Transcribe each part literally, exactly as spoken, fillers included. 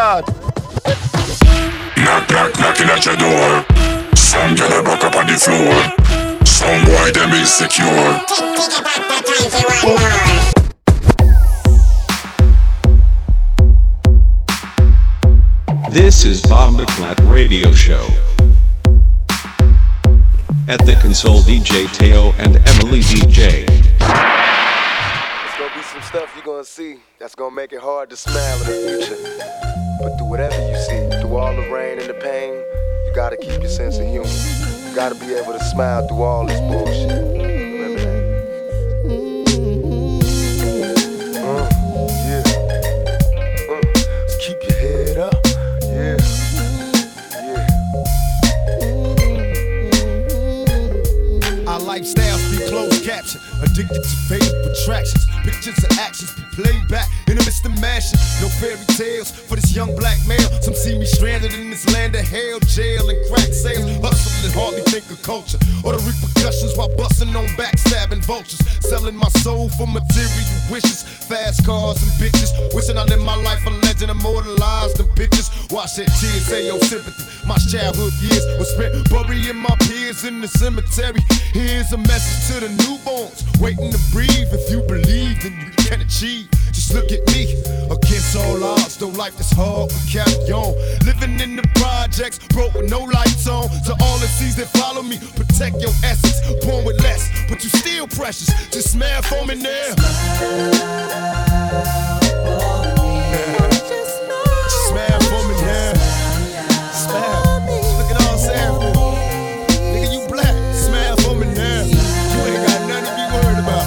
God. Knock, knock, knocking at your door. Some girl a back up on the floor. Some boy them insecure. This is Bob McClat Radio Show. At the console, D J Teo and Emily D J. There's gonna be some stuff you're gonna see that's gonna make it hard to smile in the future. But through whatever you see, through all the rain and the pain, you gotta keep your sense of humor. You gotta be able to smile through all this bullshit. Remember that. Uh, yeah. Uh, so keep your head up. Yeah. Yeah. Our lifestyles be closed caption, addicted to fatal attractions. Pictures and actions be played back in the midst of mashing. No fairy tales for this young black male. Some see me stranded in this land of hell, jail and crack sales. Hustle and hardly think of culture or the repercussions while busting on backstabbing vultures. Selling my soul for material wishes, fast cars and bitches. Wishing I lived my life a legend, immortalized in pictures. Watch that tears, say your sympathy. My childhood years were spent burying my peers in the cemetery. Here's a message to the newborns, waiting to breathe. If you believe, then you can achieve. Just look at me, against all odds, though life is hard, we carry on. Living in the projects, broke with no lights on. To all the seas that follow me, protect your essence. Born with less, but you still precious. Just smile for me now. Just smile for me now. Smile. Look at all Sam. Nigga, you black. Smile for me now. You ain't got nothing to be worried about.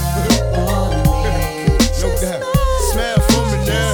No doubt. Smile for me now.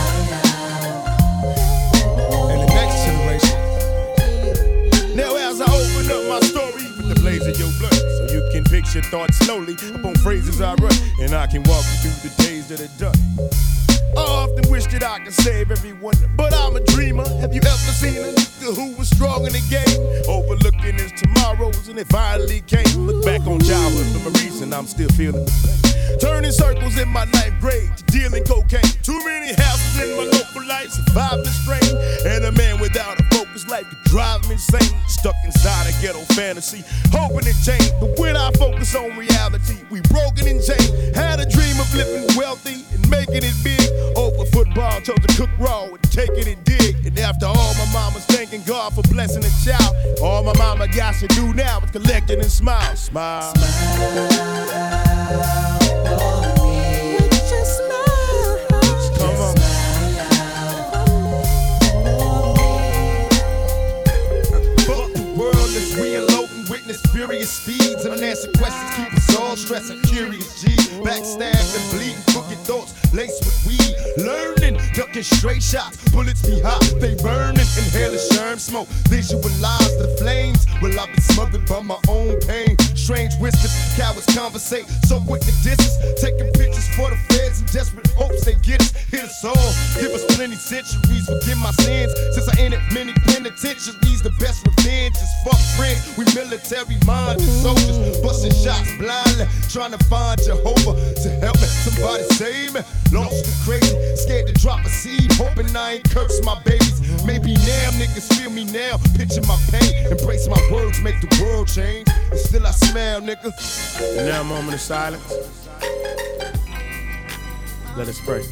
And the next generation. Now as I open up my story with the blaze of your blood, so you can picture thoughts slowly upon phrases I run, and I can walk you through the days that are done. I often wish that I could save everyone, but I'm a dreamer. Have you ever seen a nigga who was strong in the game, overlooking his tomorrows, and it finally came? Look back on childhood for a reason, I'm still feeling the pain. Turning circles in my ninth grade, dealing cocaine. Too many houses in my local life, survived the strain. And a man without a focus life could drive me insane. Stuck inside a ghetto fantasy, hoping it changed. But when I focus on reality, we broken and chained. Had a dream of living wealthy and making it big. Over football, chose to cook raw and taking it dig. And after all, my mama's thanking God for blessing a child. All my mama got to do now is collect it and smile. Smile. Smile. Furious speeds, unanswered questions keep us all stressing. Curious G, backstabbed and bleeding, crooked thoughts laced with weed. Learning, ducking straight shots, bullets be hot, they burning. Inhale the sherm smoke, visualize the flames. Will I be smothered by my own pain? Strange whispers, cowards conversate, so quick to distance. Taking pictures for the feds in desperate hopes they get us. Hit us all, give us plenty centuries, forgive my sins. Since I entered many penitentiaries, the best revenge is fuck friends. We military minded soldiers, busting shots blindly, trying to find Jehovah to help me. Somebody save me. Lost and crazy, scared to drop a seed, hoping I ain't curse my babies. Maybe now niggas feel me now, picture my pain, embrace my words, make the world change. And still I smile, nigga. And now a moment of silence. Let us pray.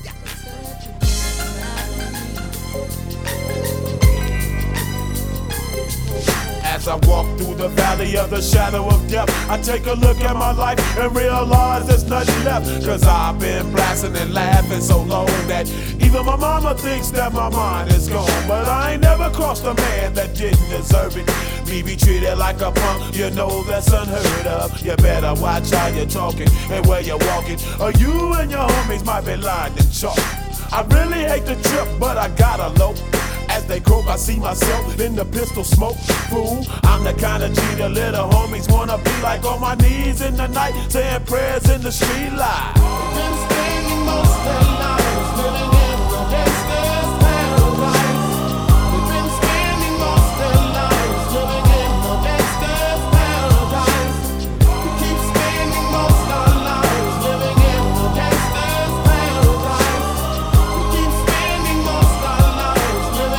As I walk through the valley of the shadow of death, I take a look at my life and realize there's nothing left. Cause I've been blasting and laughing so long that even my mama thinks that my mind is gone. But I ain't never crossed a man that didn't deserve it. Me be treated like a punk, you know that's unheard of. You better watch how you're talking and where you're walking, or you and your homies might be lined in chalk. I really hate the trip, but I gotta low. As they croak, I see myself in the pistol smoke. Fool, I'm the kind of G the little homies wanna be like, on my knees in the night, saying prayers in the street light. Been spending most of their lives living in the gangster's paradise. We've been spending most of their lives living in the gangster's paradise. We keep spending most of our lives living in the gangster's paradise. We keep spending most of our lives living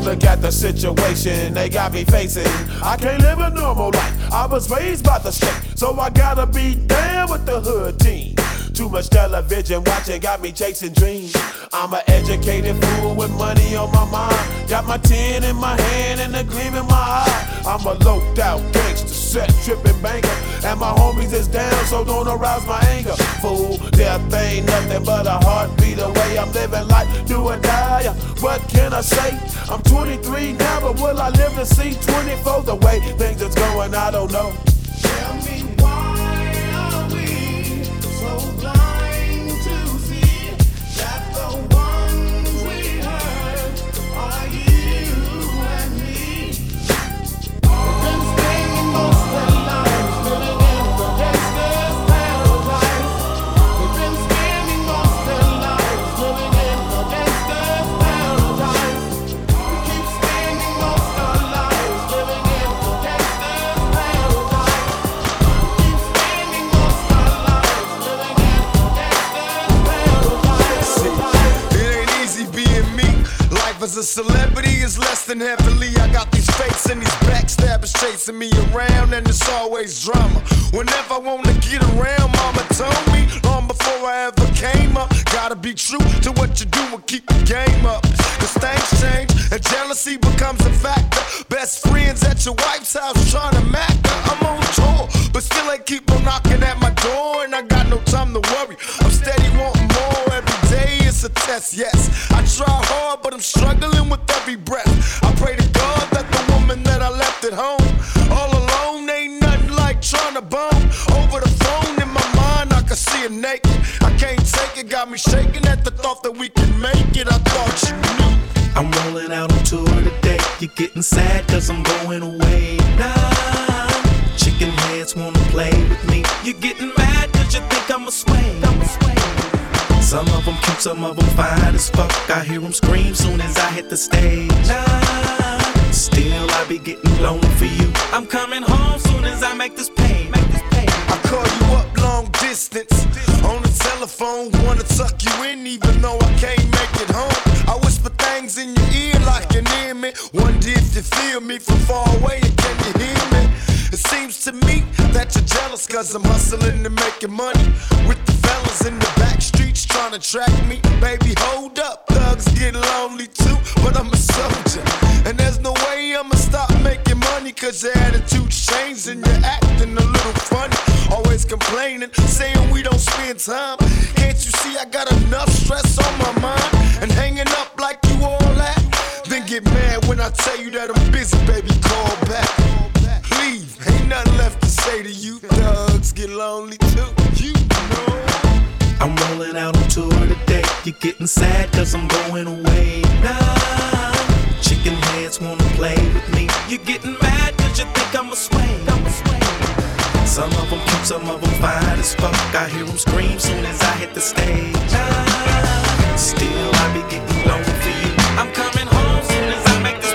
look at the situation they got me facing. I can't live a normal life. I was raised by the state, so I gotta be down with the hood team. Too much television watching got me chasing dreams. I'm an educated fool with money on my mind. Got my tin in my hand and a gleam in my eye. I'm a loped out gangster, set tripping banker, and my homies is down, so don't arouse my anger. Fool, death ain't nothing but a heartbeat away. I'm living life, do or die. What can I say? I'm twenty-three now, but will I live to see twenty-four? The way things is going, I don't know. Tell me why are we so blind to see that the ones we hurt are you and me? We've been spending most of our lives living in the gangster's paradise. We've been spending most of our lives living in the gangster's paradise. We keep spending most of our lives living in the gangster's paradise. Keep spending most of our lives living in the gangster's paradise. It ain't easy being me. Life as a celebrity is less than heavily. I got these fakes and these backstabbers chasing me around, and it's always drama. Whenever I wanna get around, mama told me long before I ever came up, gotta be true to what you do and keep the game up. Cause things change and jealousy becomes a factor. Best friends at your wife's house trying to mac her. I'm on tour, but still ain't keep on knocking at my door, and I got no time to worry. I'm steady wanting more every day. It's a test, yes. I try hard, but I'm struggling with every breath. I pray to God that the woman that I left at home all alone ain't nothing like trying to bone. Over the phone in my mind, I can see her naked. I can't take it, got me shaking at the thought that we can make it. I thought you knew. I'm rolling out on tour today. You're getting sad cause I'm going away now. Chicken heads wanna play with me. You're getting mad cause you think I'm a sway. I'm a sway. Some of them cute, some of them fine as fuck. I hear them scream soon as I hit the stage. Nah, still I be getting lonely for you. I'm coming home soon as I make this pay. Make this pay. I call you up long distance on the telephone, wanna tuck you in even though I can't make it home. I whisper things in your ear like you near me. Wonder if you feel me from far away and can you hear me? It seems to me that you're jealous cause I'm hustling and making money with the fellas in the back streets trying to track me. Baby, hold up, thugs get lonely too, but I'm a soldier, and there's no way I'ma stop making money cause your attitude's changed and you're acting a little funny. Always complaining, saying we don't spend time. Can't you see I got enough stress on my mind? And hanging up like you all that? Then get mad when I tell you that I'm busy, baby, call back. Leave, ain't nothing left to say to you. Thugs get lonely too, you know. I'm rolling out on tour today. You're getting sad cause I'm going away now. Chicken heads wanna play with me. You're getting mad cause you think I'm a sway. I'm a sway. Some of them cute, some of them fine as fuck. I hear them scream soon as I hit the stage. Nah, still I be getting lonely for you. I'm coming home soon as I make this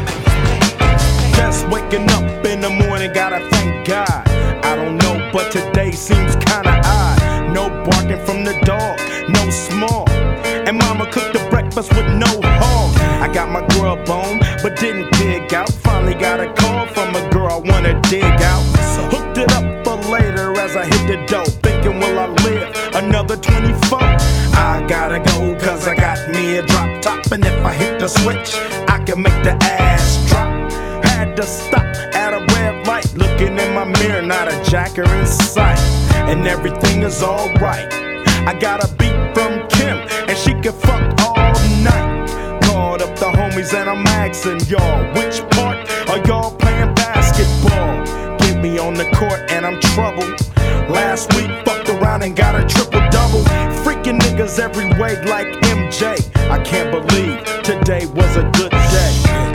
pay. Just waking up in the morning, gotta thank God. I don't know, but today seems kinda odd. No barking from the dog, no small. And mama cooked the breakfast with no hog. I got my grub on, but didn't dig out. Finally got a call from a girl I wanna dig out. Hooked it up for later as I hit the dough. Thinking, will I live another twenty-four? I gotta go cause I got me a drop top. And if I hit the switch, I can make the ass drop. Had to stop at a red light, looking in my mirror, not a jacker in sight. And everything is alright. I got a beat from Kim, and she can fuck all night. Called up the homies and I'm asking y'all, which part are y'all playing basketball? Get me on the court and I'm troubled. Last week fucked around and got a triple-double. Freaking niggas every way like M J. I can't believe today was a good day.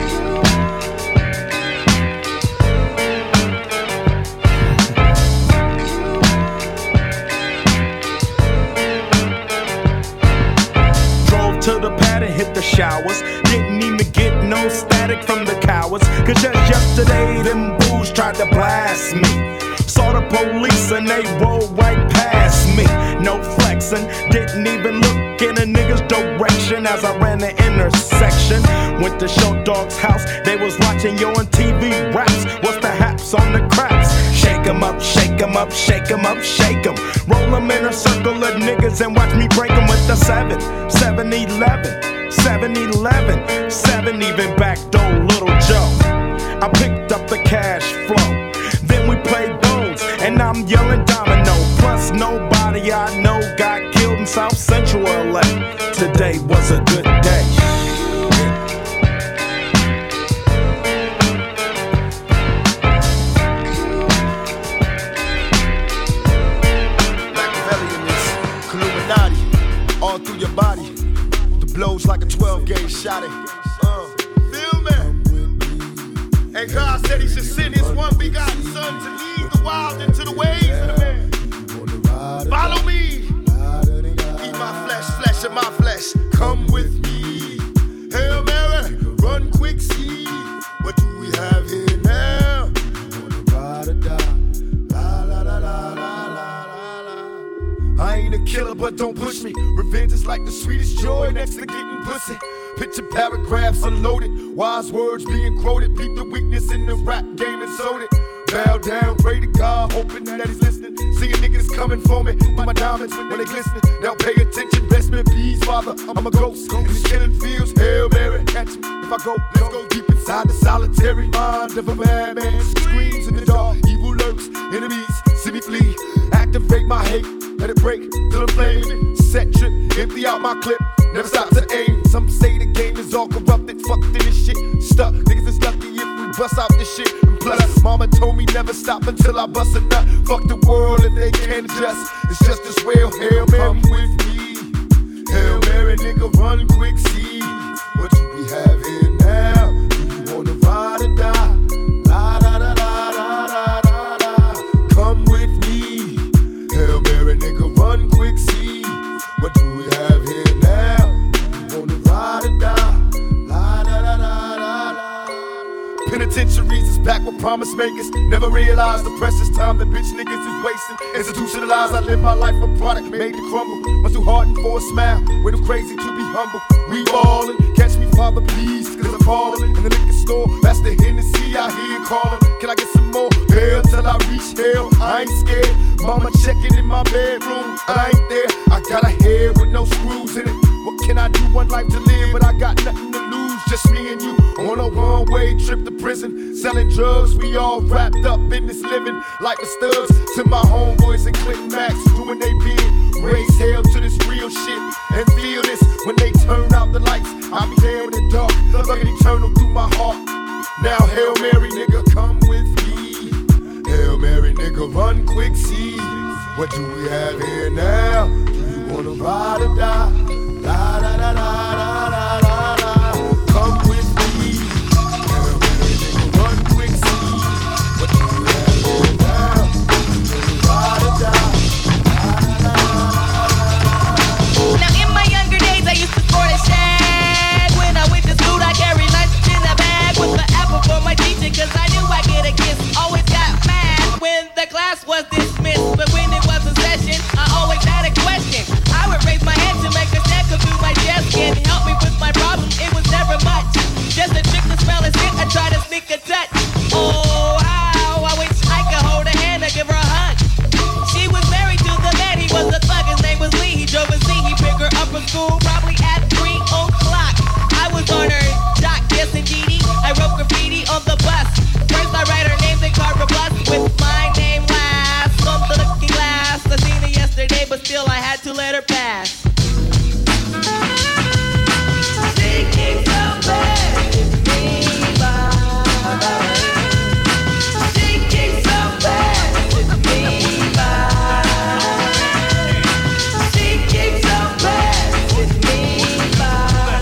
To the pad and hit the showers. Didn't even get no static from the cowards. Cause just yesterday them booze tried to blast me. Saw the police and they rolled right past me. No flexing, didn't even look in a nigga's direction as I ran the intersection. Went to Short Dog's house, they was watching Yo on T V raps. What's the haps on the craps? Shake 'em up, shake 'em up, shake 'em up, shake 'em. Roll 'em in a circle of niggas and watch me break 'em with the seven, seven eleven, seven eleven, seven even backdoor Little Joe. I picked up the cash flow, then we played bones, and I'm yelling domino. Plus nobody I know got killed in South Central L A. Today was a good day. All through your body, the blows like a twelve gauge shot. Uh, feel me? And God said He should send His one begotten Son to lead the wild into the ways of the man. Follow me, eat my flesh, flesh of my flesh. Come with me. Hail Mary, run quick, see what do we have here now? Ride or die. La la la la la la. I ain't a killer, but don't push me. Revenge is like the sweetest joy next to getting pussy. Picture paragraphs unloaded, wise words being quoted. Peep the weakness in the rap game and sold it. Bow down, pray to God, hoping that He's listening. See a nigga that's coming for me. My diamonds when they glistening. Now pay attention, bless me, please, Father. I'm a ghost in these killing fields. Hail Mary, catch me if I go. Let's go deep inside the solitary mind of a madman. Screams in the dark, evil lurks, enemies see me flee. Activate my hate. Let it break till I'm flaming. Set trip, empty out my clip. Never stop to aim. Some say the game is all corrupted. Fucked in this shit. Stuck. Niggas is lucky if we bust out this shit. And plus, mama told me never stop until I bust a nut. Fuck the world if they can't adjust. It's just as well. Hail Mary, come with me. Hail Mary, nigga, run quick, see what do we have here now? Do you wanna ride or die? La da da da da da da da. Come with me. Hail Mary, nigga, run quick, see what do we have here now? You wanna ride or die? La da da da da da. Penitentiaries is packed with promise makers. Never realized the precious time that bitch niggas is wasting. Institutionalized, I live my life a product made to crumble. Must do harden for a smile, way too crazy to be humble. We ballin', catch me, Father, please, cause I'm fallin'. In the liquor store, that's the Hennessy I hear callin'. Can I get some more? Hell till I reach hell, I ain't scared. Mama checking in my bedroom, I ain't there. I got a head with no screws in it. What can I do? One life to live, but I got nothing to lose. Just me and you on a one-way trip to prison. Selling drugs, we all wrapped up in this living. Like the studs to my homeboys and Click Max doing they bid. Raise hell to this real shit and feel this when they turn out the lights. I'll be there in the dark, looking eternal through my heart. Now Hail Mary, nigga, come with me. Hail Mary, nigga, run quick, see what do we have here now? Do you wanna ride or die? La da da da da da da da. Come with me. Hail Mary, nigga, run quick, see what do we have here now? Do you wanna ride or die? Now in my younger days I used to sport a shag. When I went to school I carried lunch in a bag with the apple for my teacher, cause I knew I'd get a kiss. Always got mad when the class was dismissed, but when it was a session I always had a question. I would raise my hand to make a step through my chest. Can help me with my problem, it was never much. Just a trick to smell and sit, I try to sneak a touch. Oh how I wish I could hold her hand or give her a hug. She was married to the man, he was a thug, his name was Lee. He drove a Z, he picked her up from school probably at three o'clock. I was on her dock, yes indeedy. I wrote graffiti on the bus. First I write her name, then carve a plus with my name last on the looking glass. I seen her yesterday, but still I had to let her pass. She keeps so bad with me, bye. She keeps so bad with me, bye. She keeps so bad with me, bye.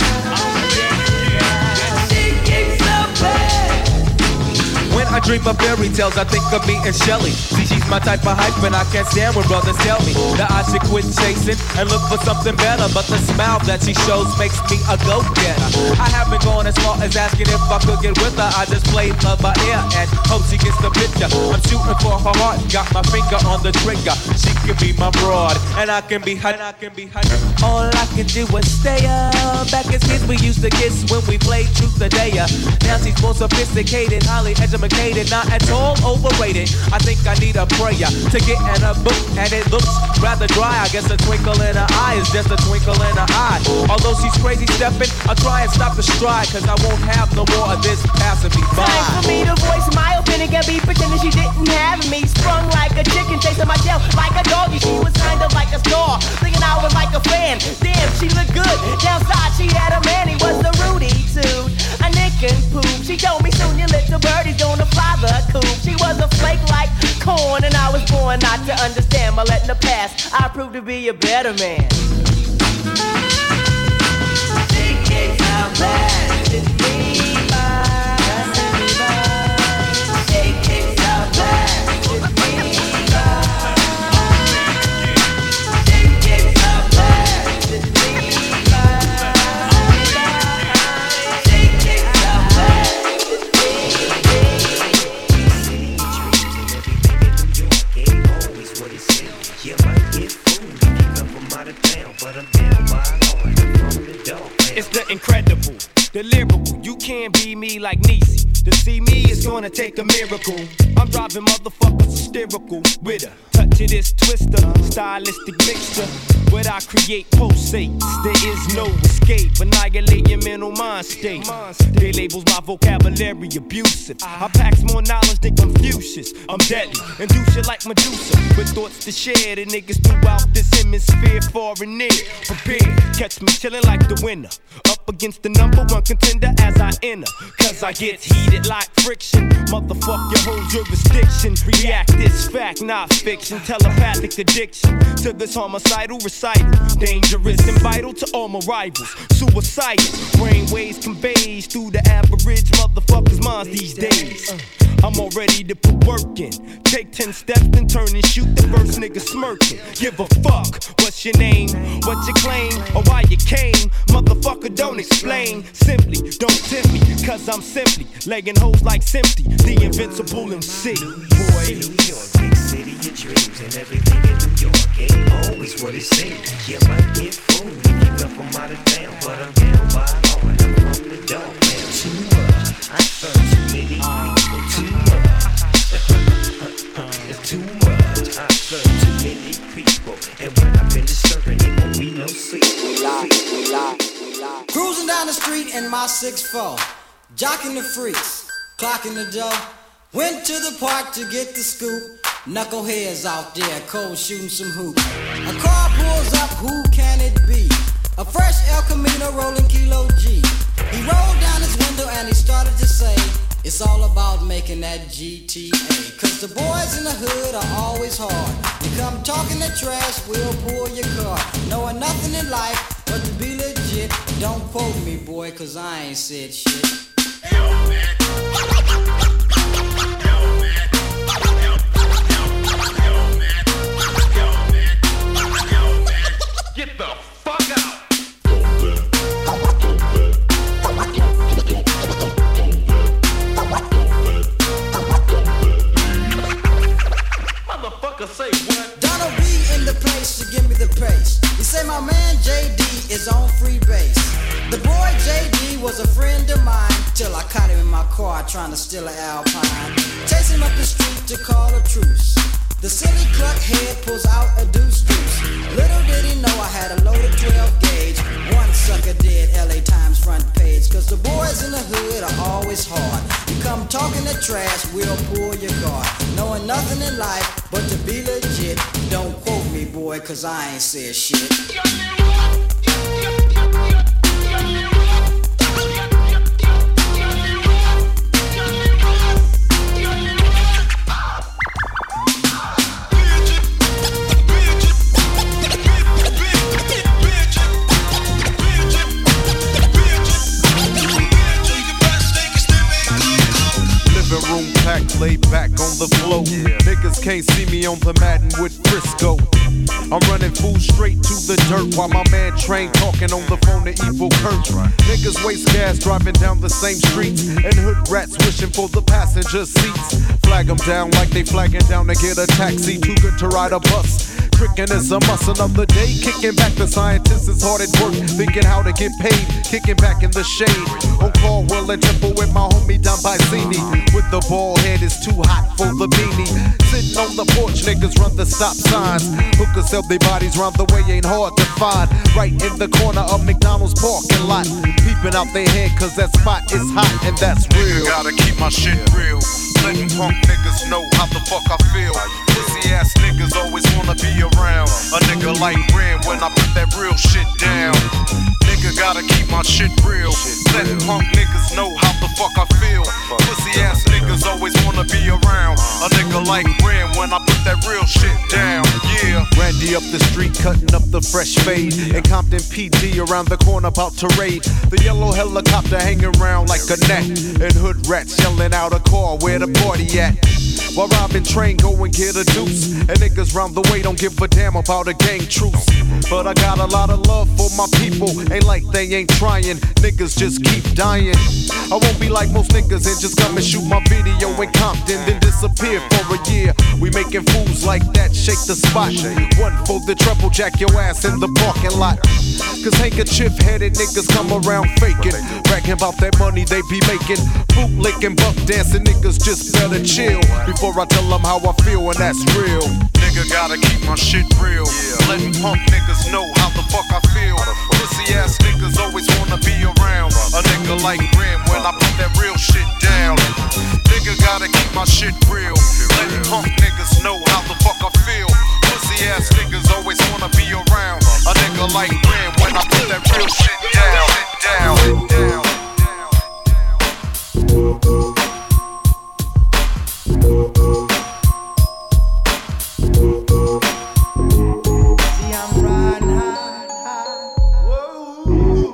She keeps so bad. When I dream of fairy tales, I think of me and Shelly. See, she's my type of hype, and I can't stand when brothers tell me that I should quit chasing and look for something better. But the smile that she shows makes me a go-getter. I haven't gone as far as asking if I could get with her. I just played love by ear and hope she gets the picture. I'm shooting for her heart, got my finger on the trigger. She can be my broad, and I can be hot, and I can be hot. All I can do is stay up. Back as kids, we used to kiss when we played truth or dare. Now she's more sophisticated, highly educated, not at all overrated. I think I need a prayer to get in a book, and it looks rather dry. I guess a twinkle in her eye is just a twinkle in her eye. Although she's crazy stepping, I'll try and stop the stride, cause I won't have no more of this passing me by. Time for me to voice my opinion, can be pretending she didn't have me. Sprung like a chicken, chasing my tail like a doggy. She was kind of like a star, thinking I was like a fan. Damn, she looked good. Downside, she had a man, he was the Rudy too. A nick and poop. She told me soon your little birdie's gonna fly the coop. She was a flake like corn, and I was born not to understand. But letting the past, I proved to be a better man. Think it's how bad it be. It's the incredible, the lyrical. You can't be me like Niecy. To see me is gonna take a miracle. I'm driving motherfuckers hysterical with a touch of this twister, stylistic mixture. What I create pulsates, there is no escape. Annihilate your mental mind state. They labels my vocabulary abusive. I packs more knowledge than Confucius. I'm deadly and do shit like Medusa, with thoughts to share. The niggas throughout this hemisphere, far and near. Prepare, catch me chillin' like the winner, up against the number one contender as I enter. Cause I get heated like friction. Motherfuck your whole jurisdiction. React this fact, not fiction. Telepathic addiction to this homicidal recital. Dangerous and vital to all my rivals. Suicidal brainwaves conveys through the average motherfucker's minds these days. I'm all ready to put work in. Take ten steps and turn and shoot the first nigga smirking. Give a fuck, what's your name, what you claim, or why you came. Motherfucker, don't explain. Simply, don't tempt me, cause I'm simply legging hoes like Simpty, the invincible M C. Boy, New York, big city of dreams, and everything in New York ain't always what it seems. You might get fooled if you come from out of town, but I'm down by law and I'm from the dog, man. Too much, I serve too many people. Too much, it's too much. I serve too many people, and when I finish serving, it won't be no sleep. We lie, we lie, we lie. Cruising down the street in my six four, jocking the freaks, clocking the dough. Went to the park to get the scoop. Knuckleheads out there, cold shooting some hoops. A car pulls up, who can it be? A fresh El Camino rolling Kilo G. He rolled down his window and he started to say, it's all about making that G T A. Cause the boys in the hood are always hard. You come talking the trash, we'll pull your car. Knowing nothing in life but to be legit. Don't quote me, boy, cause I ain't said shit. Yo, man. Get the fuck out! Motherfucker, say what? Donald B in the place to give me the pace. He say my man J D is on free base. The boy J D was a friend of mine till I caught him in my car trying to steal an Alpine. Chase him up the street to call a truce. The silly cluck head pulls out a deuce deuce. Little did he know I had a loaded twelve gauge. One sucker did L A Times front page. Cause the boys in the hood are always hard. You come talking the trash, we'll pull your guard. Knowing nothing in life but to be legit. Don't quote me, boy, cause I ain't said shit. Room packed laid back on the floor. Niggas can't see me on the Madden with Frisco. I'm running full straight to the dirt while my man Train talking on the phone to Evil Kurt. Niggas waste gas driving down the same streets, and hood rats wishing for the passenger seats. Flag them down like they flagging down to get a taxi. Too good to ride a bus. Tricking is a must. Another day kicking back. The scientist is hard at work, thinking how to get paid. Kicking back in the shade on Caldwell and Temple with my homie Don Bicini. With the bald head, it's too hot for the beanie. Sitting on the porch, niggas run the stop signs. Hookers sell their bodies round the way, ain't hard to find. Right in the corner of McDonald's parking lot. Peeping out their head, cause that spot is hot and that's real. Gotta keep my shit real. Letting punk niggas know how the fuck I feel. Pussy ass niggas always wanna be around a nigga like Ren when I put that real shit down. Nigga gotta keep my shit real. Letting punk niggas know how the fuck I feel. Pussy ass niggas always wanna be around a nigga like Ren when I put that real shit down. Yeah. Randy up the street cutting up the fresh fade, and Compton P D around the corner about to raid. The yellow helicopter hanging around like a net, and hood rats yelling out a call where the party at. While robbing Train, go and get a deuce, and niggas round the way don't give a damn about a gang truce. But I got a lot of love for my people, ain't like they ain't trying. Niggas just keep dying. I won't be like most niggas and just come and shoot my video in Compton, then disappear for a year. We making fools like that, shake the spot. One for the trouble, jack your ass in the parking lot. Cause handkerchief headed niggas come around faking, bragging about that money they be making. Bootlicking, buck dancing niggas just better chill before I tell them how I feel, and that's real. Nigga gotta keep my shit real. Letting punk niggas know how the fuck I feel. Pussy ass niggas always wanna be around a nigga like Ren when I put that real shit down. Nigga gotta keep my shit real. Letting punk niggas know how the fuck I feel. Pussy ass niggas always wanna be around a nigga like Ren when I put that real shit down. Down, down. See, I'm riding high, high. Whoa.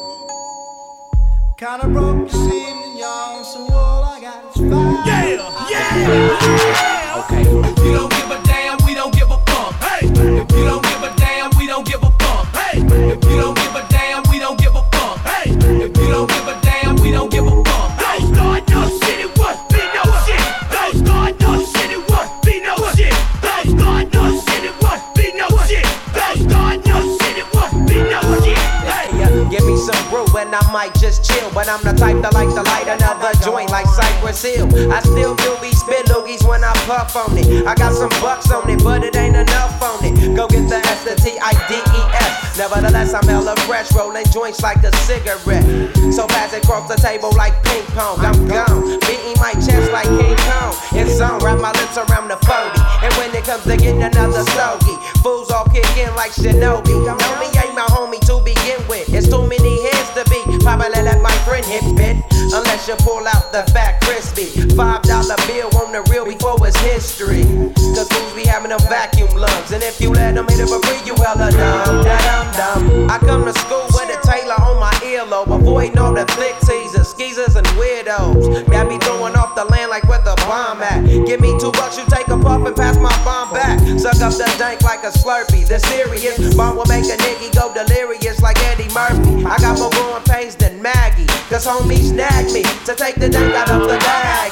Kinda broke this evening, y'all, so all I got is five. Yeah, yeah. Okay. If you don't give a damn, we don't give a fuck. Hey. If you don't give a damn, we don't give a fuck. Hey. If you don't give a damn, we don't give a fuck. Hey. If you don't give a damn, we don't give a fuck. Don't start no shit, it was be no shit. Don't start no shit, it was be no shit. Don't start no shit, it was be no shit. Don't start no shit, it was be no shit. Hey, uh, give me some brew and I might just chill, but I'm the type that like to light another joint like Cypress Hill. I still do be spit loogies when I puff on it. I got some bucks on it, but it ain't enough on it. Go get the S, the T I D E S. Nevertheless, I'm hella fresh, rolling joints like a cigarette. So pass it across the table like ping pong. I'm gone, beating my chest like King Kong. It's on, wrap my lips around the forty. And when it comes to getting another stogie, fools all kick in like Shinobi. Know me ain't my homie to begin with. It's too many heads to be. Probably let my friend hit bit. Unless you pull out the fat crispy five dollar bill on the real before it's history. Cause fools be having them vacuum lungs, and if you let them hit it for free, you hella dumb, dumb, dumb. I come to school with a Taylor on my earlobe, avoiding all the flick teasers, skeezers, and weirdos. Got me throwing off the land like where the bomb at. Give me two bucks, you take a puff and pass my bomb back. Suck up the dank like a Slurpee. The serious bomb will make a nigga go delirious like Eddie Murphy. I got more growing pains than Maggie, cause homies snagged me to take the dank out of the bag.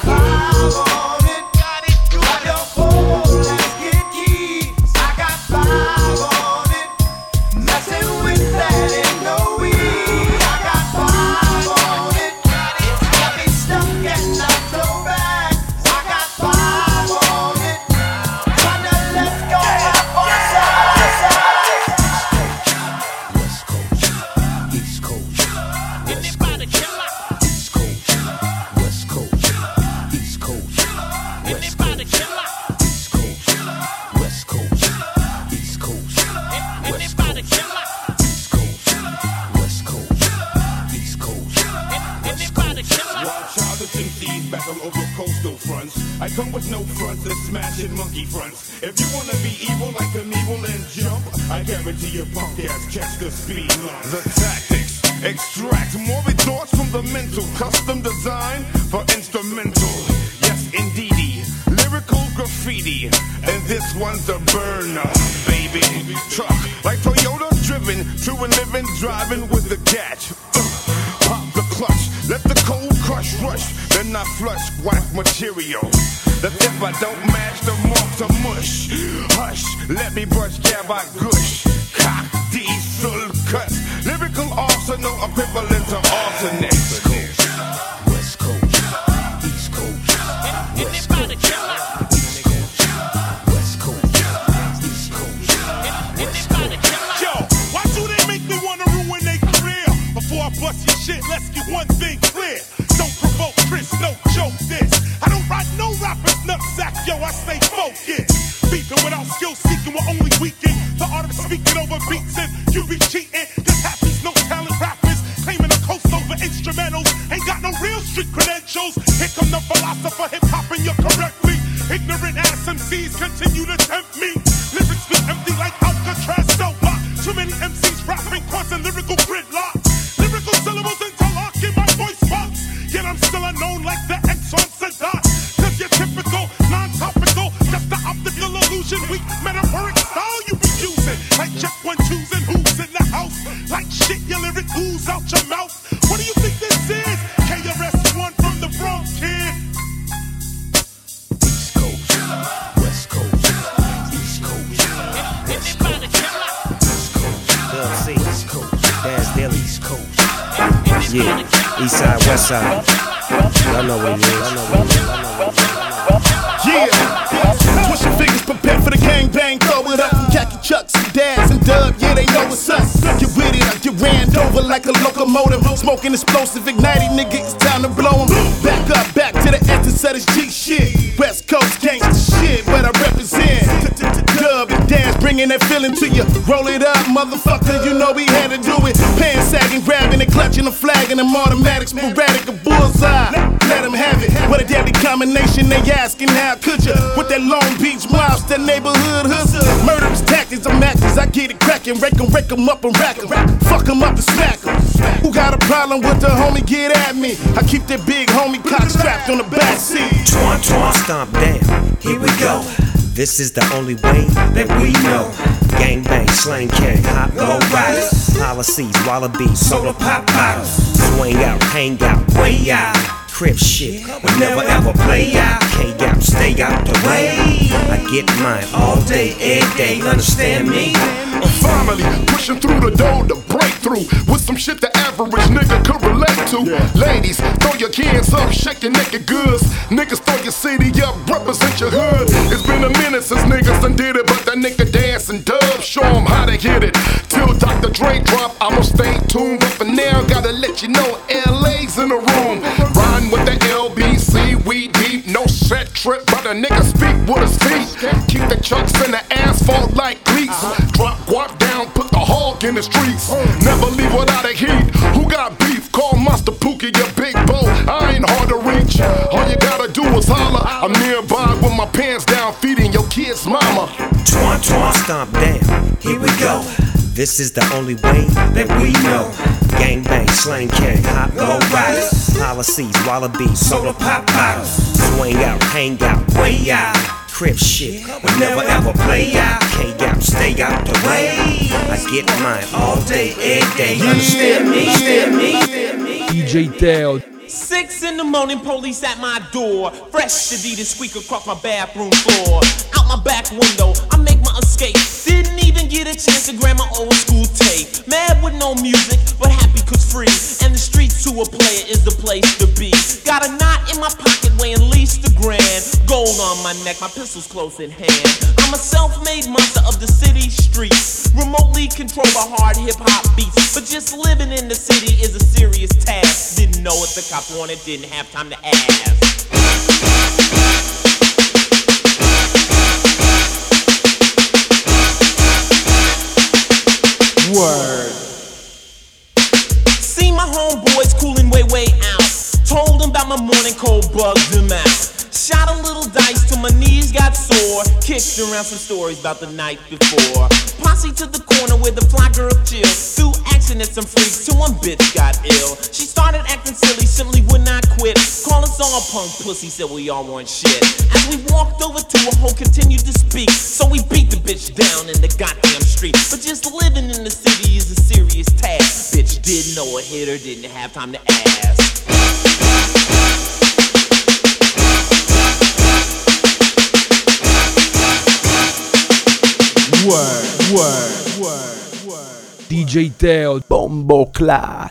I come with no fronts and smashing monkey fronts. If you wanna be evil like an evil and jump, I guarantee your punk ass catch the speed line. The tactics extract morbid thoughts from the mental, custom design for instrumental. Yes, indeed. one's a burner, baby. Truck like Toyota driven to a living, driving with the catch. Uh, pop the clutch, let the cold crush rush. Then I flush whack material. That if I don't match the marks of mush, hush, let me brush, jab, I gush. Cock, diesel cuts, lyrical arsenal equivalent to arsenic. West Coast, West Coast, East Coast, West Coast, East Coast, West Coast, East Coast, West Coast. Yo, why do they make me wanna ruin their career? Before I bust your shit, let's get one thing clear. Don't provoke Chris, no joke this. I don't write no rappers nutsack, yo, I stay focused. Beefing without skill seeking, we're only weakening the art of speaking over beats and you be cheating. Cause half these no talent rappers claiming a coast over instrumentals ain't got no real street credentials. Here come the philosopher, hip hop and you're correctly. Ignorant ass M Cs continue to tempt me. Lyrics be empty like Alcatraz soap block. Too many M Cs rapping, causing lyrical gridlock. Lyrical syllables interlocking my voice box. Yet I'm still unknown like the X on Sadat. Cause you're typical, non-topical, just the optical illusion. Weak metaphoric style you be using. Like check one, twos, and who's in the house. Like shit, your lyric ooze out your mouth. What do you think this is? K R S One from the Bronx, kid. East Coast, West Coast, East Coast, West Coast, East Coast, East Coast, That's their East Coast. Yeah, East Side, West Side. Y'all know what it is. Y'all know what it is. Y'all know what it is. Yeah, push your fingers, prepare for the gang bang, throw it up from khaki chucks and dads and dub, yeah, they know what's up. Get with it, I get ran over like a locomotive, smoking explosive, igniting nigga, it's time to blow 'em. Back up, back to the essence of this G shit. West Coast gangsta shit, what I represent. Dub and dance, bringing that feeling to you. Roll it up, motherfucker, you know we had to do it. Pants sagging, grabbing and clutching a flag and them automatics, sporadic, a bullseye. Let them have it. What a deadly combination, they asking how could you? With that Long Beach mouse, that neighborhood hustle. Murderous tactics, I'm actors, I get it cracking. Rake 'em, rake 'em up and rack 'em. Fuck 'em up and smack 'em. Who got a problem with the homie, get at me. I keep that big homie cock strapped on the back seat. Twan, twan, stomp down, here we go. This is the only way that we know. Gang bang, slang king, hot low riders. Policies, wallabies, soda pop bottles. Swing out, hang out, way out. Crip shit, we never ever play out. K-Gap, stay out the way. I get mine all day, every day, understand me? I'm finally pushing through the door to break through with some shit the average nigga could relate to. Yeah. Ladies, throw your cans up, shake your naked goods. Niggas, throw your city up, represent your hood. It's been a minute since niggas done did it, but that nigga dance and dub, show 'em how to hit it. Till Doctor Dre drop, I'ma stay tuned. But for now, gotta let you know L A's in the room. Riding with the L B C, we deep, no set trip, but a nigga speak with his feet. Keep the chucks in the asphalt like cleats. Drop guap down, put the hog in the streets. Never leave without a heat. Who got beef? Call Master Pookie, your big bow. I ain't hard to reach. All you gotta do is holler. I'm nearby with my pants down, feeding your kid's mama. Twan, twan, stomp down, here we go. This is the only way that we know. Gang bang, slang king, hot low riders. Policies, wallabies, soda pop bottles. Swing out, hang out, way out. Crip shit, we never ever play out. K-Gap, stay out the way. I get mine all day, every day. Understand me? Understand me? D J Teo. Six in the morning, police at my door. Fresh Adidas squeak across my bathroom floor. Out my back window, I make my escape. Didn't even get a chance to grab my old school tape. Mad with no music, but happy cause free. And the streets to a player is the place to be. Got a knot in my pocket weighing at least a grand. Gold on my neck, my pistol's close in hand. I'm a self-made monster of the city streets. Remotely controlled by hard hip-hop beats. But just living in the city is a serious task. Didn't know what the cop wanted, didn't have time to ask. Word. See my homeboys cooling way, way out. Told them about my morning cold, bugged them out. Shot a little dice till my knees got sore. Kicked around some stories about the night before. Posse to the corner where the fly girl chill. Threw action at some freaks till one bitch got ill. She started acting silly, simply would not quit. Calling saw punk pussy, said we all want shit. As we walked over to a hoe, continued to speak. So we beat the bitch down in the goddamn street. But just living in the city is a serious task. Bitch didn't know a hitter, didn't have time to ask. Word, word, word, word. D J Teo, Bombo Clat.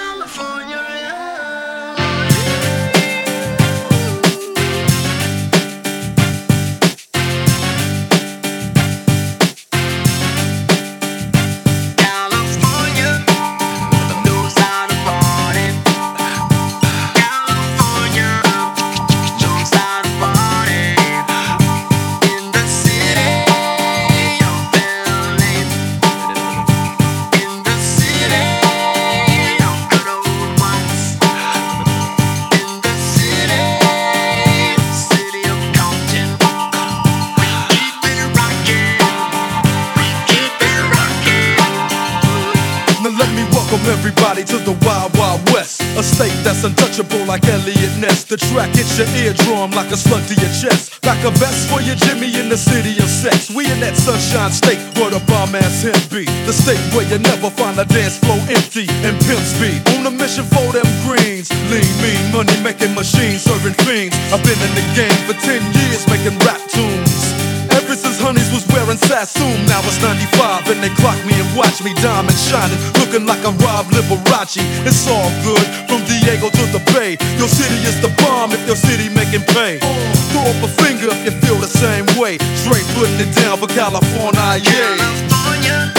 Everybody to the Wild Wild West, a state that's untouchable like Elliot Ness. The track hits your eardrum like a slug to your chest. Like a vest for your Jimmy in the city of sex. We in that sunshine state where the bomb ass him be. The state where you never find a dance floor empty and pimp speed. On a mission for them greens. Lean, mean, money making machines serving fiends. I've been in the game for ten years making rap tunes. Ever since Honeys was wearing Sassoon, now it's ninety-five and they clock me and watch me diamond shining, looking like I'm Rob Liberace. It's all good from Diego to the Bay. Your city is the bomb if your city making pay. Throw up a finger if you feel the same way. Straight putting it down for California, yeah. California.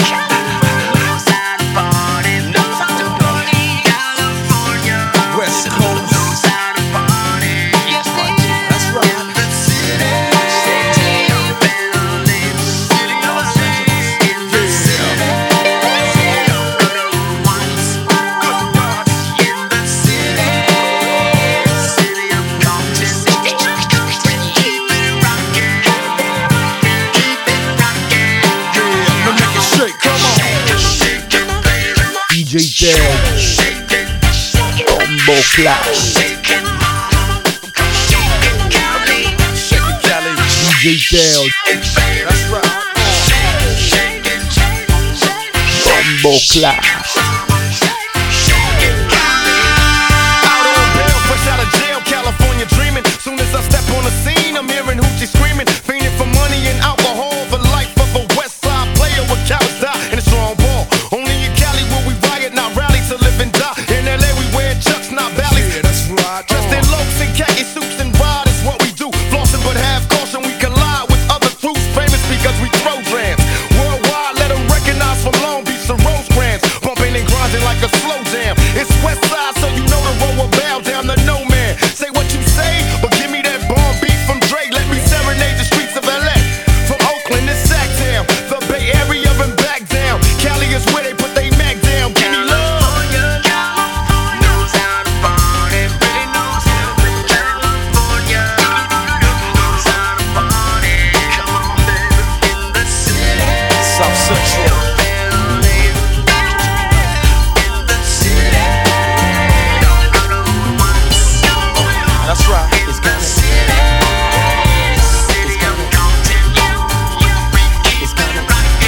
West Coast. D J Teo, Bombo Clat. D J Teo, Bombo Clat. Out on bail, fresh out of jail, California dreaming. Soon as I step on the scene, I'm hearing hoochie screaming, fiending for money and alcohol, the life of a West Side player with cowards die in a strong ball. Only in Cali will we riot, not rally to live and die. In L A we wear chucks, not valleys. Yeah, that's right. Dressed in loafs and khaki suits and ride is what we do. Flossing but have caution, we collide with other crews, famous because we throw drams. Worldwide, let them recognize from Long Beach to Rosecrans. Bumping and grinding like a slow jam. It's West Side, so you know the road will bow down to no man. Say what you say, but give me that bomb beat from Dre. Let me serenade the streets of L A. From Oakland to Sacktown, the Bay Area and back down. Cali is where they put they Mac down. Give me love. South Central. That's right. It's gonna It's gonna It's gonna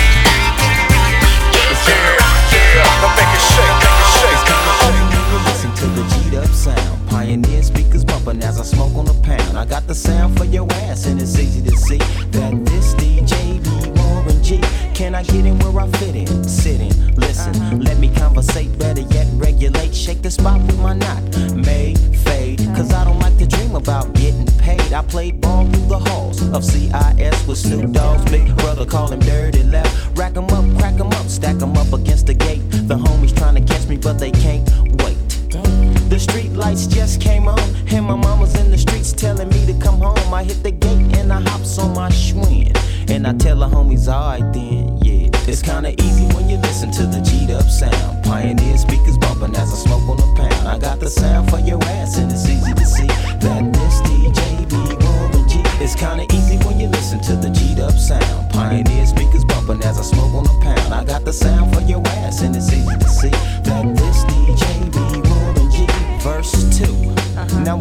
It's gonna Now make it shake, make it shake. Listen to the G'd up sound. Pioneer speakers bumping as I smoke on a pound. I got the sound for your ass and it's easy to see that this D J be Warren G. Can I get in where I fit in? Sit in, listen, let me conversate, better yet regulate. Shake the spot with my knot, may fade. Cause I don't like to dream about getting paid. I played ball through the halls of C I S with Snoop Dogg's big brother, call him Dirty Left. Rack 'em up, crack 'em up, stack 'em up against the gate. The homies trying to catch me but they can't wait. The street lights just came on, and my mama's in the streets telling me to come home. I hit the gate and I hops on my Schwinn, and I tell the homies, alright then, yeah. It's kinda easy when you listen to the G'd up sound. Pioneer speakers bumping as I smoke on a pound. I got the sound for your ass and it's easy to see that this D J be Warren G. It's kinda easy when you listen to the G'd up sound. Pioneer speakers bumping as I smoke on a pound. I got the sound for your ass and it's easy to see that this D J be Warren G. Verse two. Now what the fuck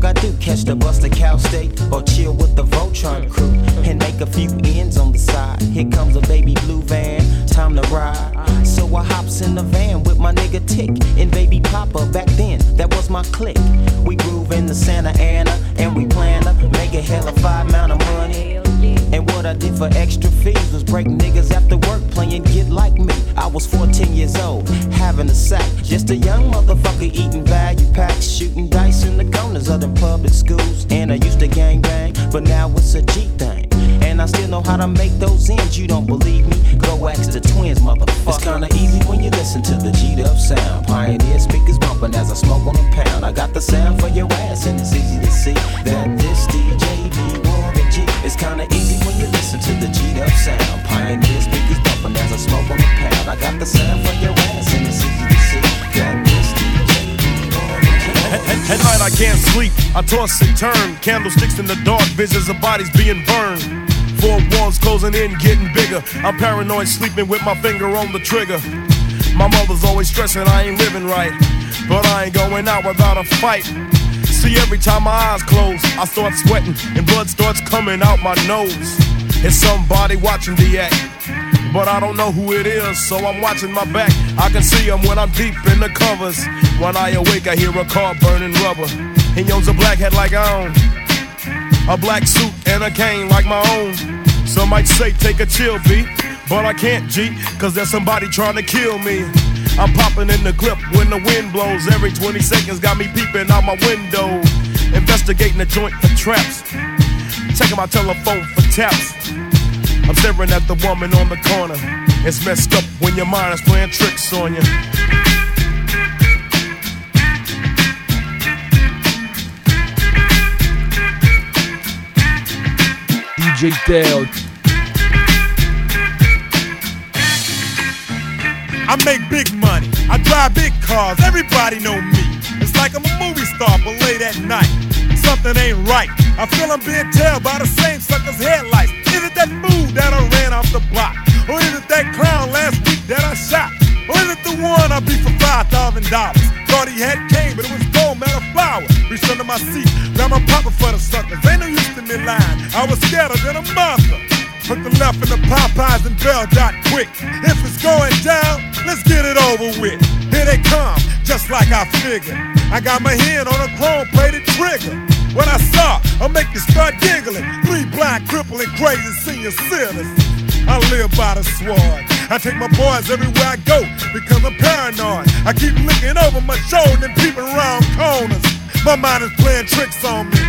fuck I do? Catch the bus to Cal State or chill with the Voltron crew and make a few ends on the side. Here comes a baby blue van, time to ride. So I hops in the van with my nigga Tick and baby Papa. Back then, that was my clique. We groove in the Santa Ana and we plan to make a hell of five amount of money. And what I did for extra fees was break niggas after work playing Get Like Me. I was fourteen years old, having a sack. Just a young motherfucker eating value packs, shooting dice in the corners of the public schools. And I used to gang bang, but now it's a G thing. And I still know how to make those ends. You don't believe me? Go ask the twins, motherfucker. It's kinda easy when you listen to the G'd up sound. Pioneer speakers bumping as I smoke on a pound. I got the sound for your ass, and it's easy to see that this D J be Warren G. It's kinda easy when you listen to the G'd up sound. Pioneer speakers bumping as I smoke on a pound. I got the sound for your ass, and it's easy to see that this D J be Warren G. At night I can't sleep, I toss and turn. Candlesticks in the dark, visions of bodies being burned. Four walls closing in, getting bigger. I'm paranoid, sleeping with my finger on the trigger. My mother's always stressing I ain't living right, but I ain't going out without a fight. See, every time my eyes close, I start sweating and blood starts coming out my nose. It's somebody watching the act, but I don't know who it is, so I'm watching my back. I can see them when I'm deep in the covers. When I awake, I hear a car burning rubber. He owns a black hat like I own, a black suit and a cane like my own. Some might say take a chill beat, but I can't G, cause there's somebody trying to kill me. I'm popping in the clip when the wind blows. Every twenty seconds got me peeping out my window, investigating the joint for traps, checking my telephone for taps. I'm staring at the woman on the corner. It's messed up when your mind is playing tricks on you. D J Teo. I make big money, I drive big cars, everybody know me. It's like I'm a movie star, but late at night, something ain't right. I feel I'm being tailed by the same sucker's headlights. Is it that fool that I ran off the block? Or is it that clown last week that I shot? Or is it the one I beat for five thousand dollars? Thought he had cane, but it was gold, man, a flower. Reached under my seat, got my poppin' for the suckers. Ain't no use to me lying, I was scared than a monster. Put the left in the Popeyes and Bell Dot quick. If it's going down, let's get it over with. Here they come, just like I figured. I got my hand on a chrome-plated trigger. When I saw, I'll make you start giggling. Three blind, crippling, crazy senior citizens. I live by the sword. I take my boys everywhere I go because I'm paranoid. I keep looking over my shoulder and peeping around corners. My mind is playing tricks on me.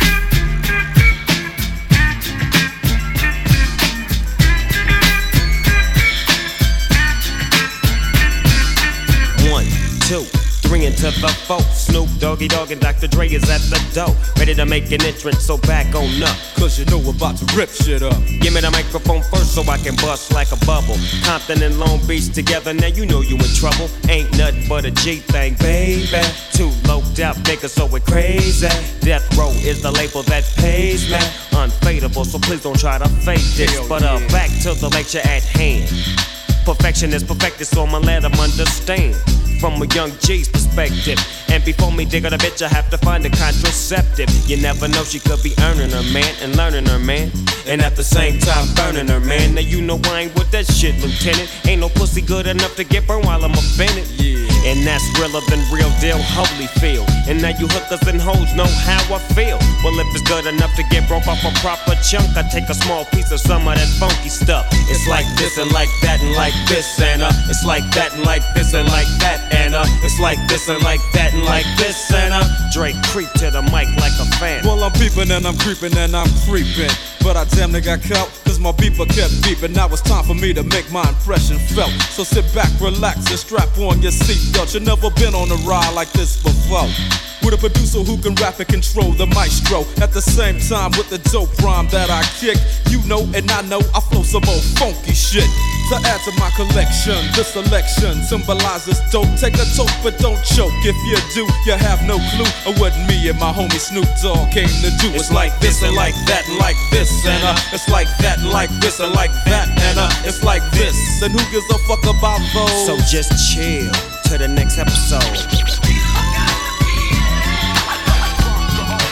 One, two, three into the four. Snoop, Doggy Dogg, and Doctor Dre is at the door, ready to make an entrance, so back on up. Cause you know we're about to rip shit up. Give me the microphone first so I can bust like a bubble. Compton and Long Beach together, now you know you in trouble. Ain't nothing but a G thing, baby. Two loped out niggas, so we're crazy. Death Row is the label that pays me. Unfadable, so please don't try to fake this. Hell but uh, yeah. back to the lecture at hand. Perfection is perfected, so I'ma let them understand from a young G's perspective. And before me dig on a bitch, I have to find a contraceptive. You never know, she could be earning her man and learning her man, and at the same time burning her man. Now you know I ain't with that shit, Lieutenant. Ain't no pussy good enough to get burned while I'm offended. Yeah. And that's realer than real deal, Holyfield. And now you hookers and hoes know how I feel. Well, if it's good enough to get broke off a proper chunk, I take a small piece of some of that funky stuff. It's like this and like that and like this and uh, it's like that and like this and like that and uh, it's like this and like that and like this and uh, Drake creep to the mic like a fan. Well, I'm peeping and I'm creeping and I'm creeping, but I damn near got caught, cause my beeper kept beeping. Now it's time for me to make my impression felt. So sit back, relax, and strap on your seatbelt. You've never been on a ride like this before, with a producer who can rap and control the maestro. At the same time with the dope rhyme that I kick, you know and I know I flow some old funky shit. To add to my collection, this selection symbolizes dope. Take a toke but don't choke. If you do, you have no clue of what me and my homie Snoop Dogg came to do. It's like this and like that and like this and uh, it's like that and like this and like that and uh, it's like this. And who gives a fuck about those? So just chill to the next episode.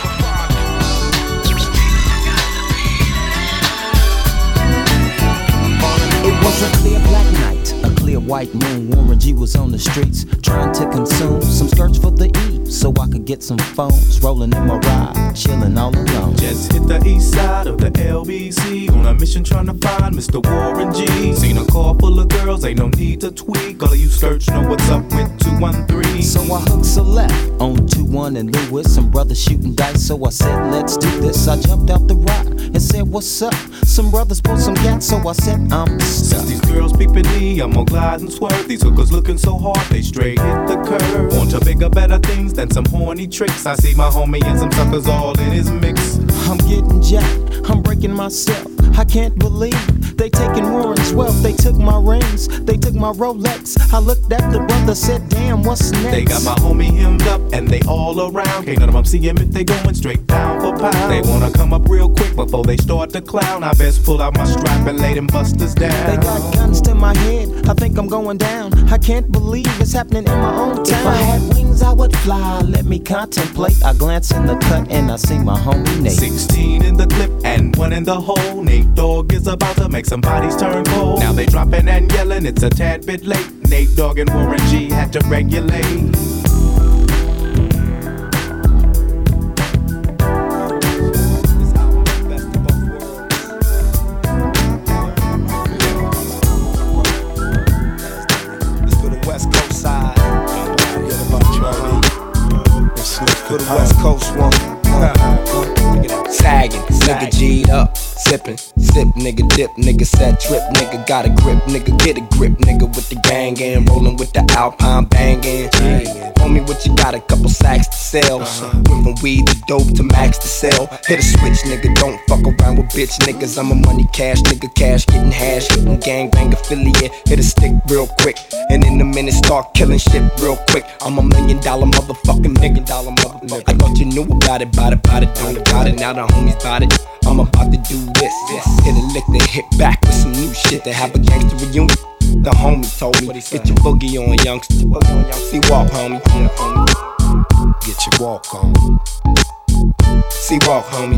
clear black night, a clear white moon. Warren G was on the streets trying to consume some skirts for the E, so I could get some phones. Rolling in my ride, chilling all alone. Just hit the east side of the L B C on a mission trying to find Mister Warren G. Seen a car full of girls, ain't no need to tweak. All of you search know what's up with two one three. So I hooked a left on two one and Lewis. Some brothers shooting dice, so I said, let's do this. I jumped out the ride and said, what's up? Some brothers pulled some gas, so I said, I'm stuck. Since these girls peeping me, I'm gonna glide and swerve. These hookers looking so hard, they straight hit the curve. Want to bigger, better things than some horny tricks. I see my homie and some suckers all in his mix. I'm getting jacked, I'm breaking myself. I can't believe they taking Warren's wealth. They took my rings, they took my Rolex. I looked at the brother, said, damn, what's next? They got my homie hemmed up and they all around. Can't none of them see him if they going straight down for pound. They wanna come up real quick before they start to clown. I best pull out my strap and lay them busters down. They got guns to my head, I think I'm going down. I can't believe it's happening in my own town. If I had wings, I would fly, let me contemplate. I glance in the cut and I see my homie Nate. Sixteen in the clip and one in the hole. Nate Dogg is about to make some bodies turn cold. Now they dropping and yelling, it's a tad bit late. Nate Dogg and Warren G had to regulate. For the West Coast one. Uh, sagging, nigga G'd up, sippin', sip, nigga dip, nigga set trip, nigga got a grip, nigga get a grip, nigga with the gang and rollin' with the Alpine bangin'. Homie, what you got? A couple sacks to sell. Went from weed to dope to max to sell. Hit a switch, nigga, don't fuck around with bitch niggas. I'm a money cash nigga, cash getting hash, hitting gang bang affiliate. Hit a stick real quick, and in a minute start killing shit real quick. I'm a million dollar motherfucking million dollar motherfucker. I thought you knew about it, about it, about it, don't about it. Now the homies about it. I'm about to do this. Hit a lick, then hit back with some new shit to have a gangster reunion. The homie told me, get your boogie on, youngster. See walk, homie. Get your walk on. See walk, homie.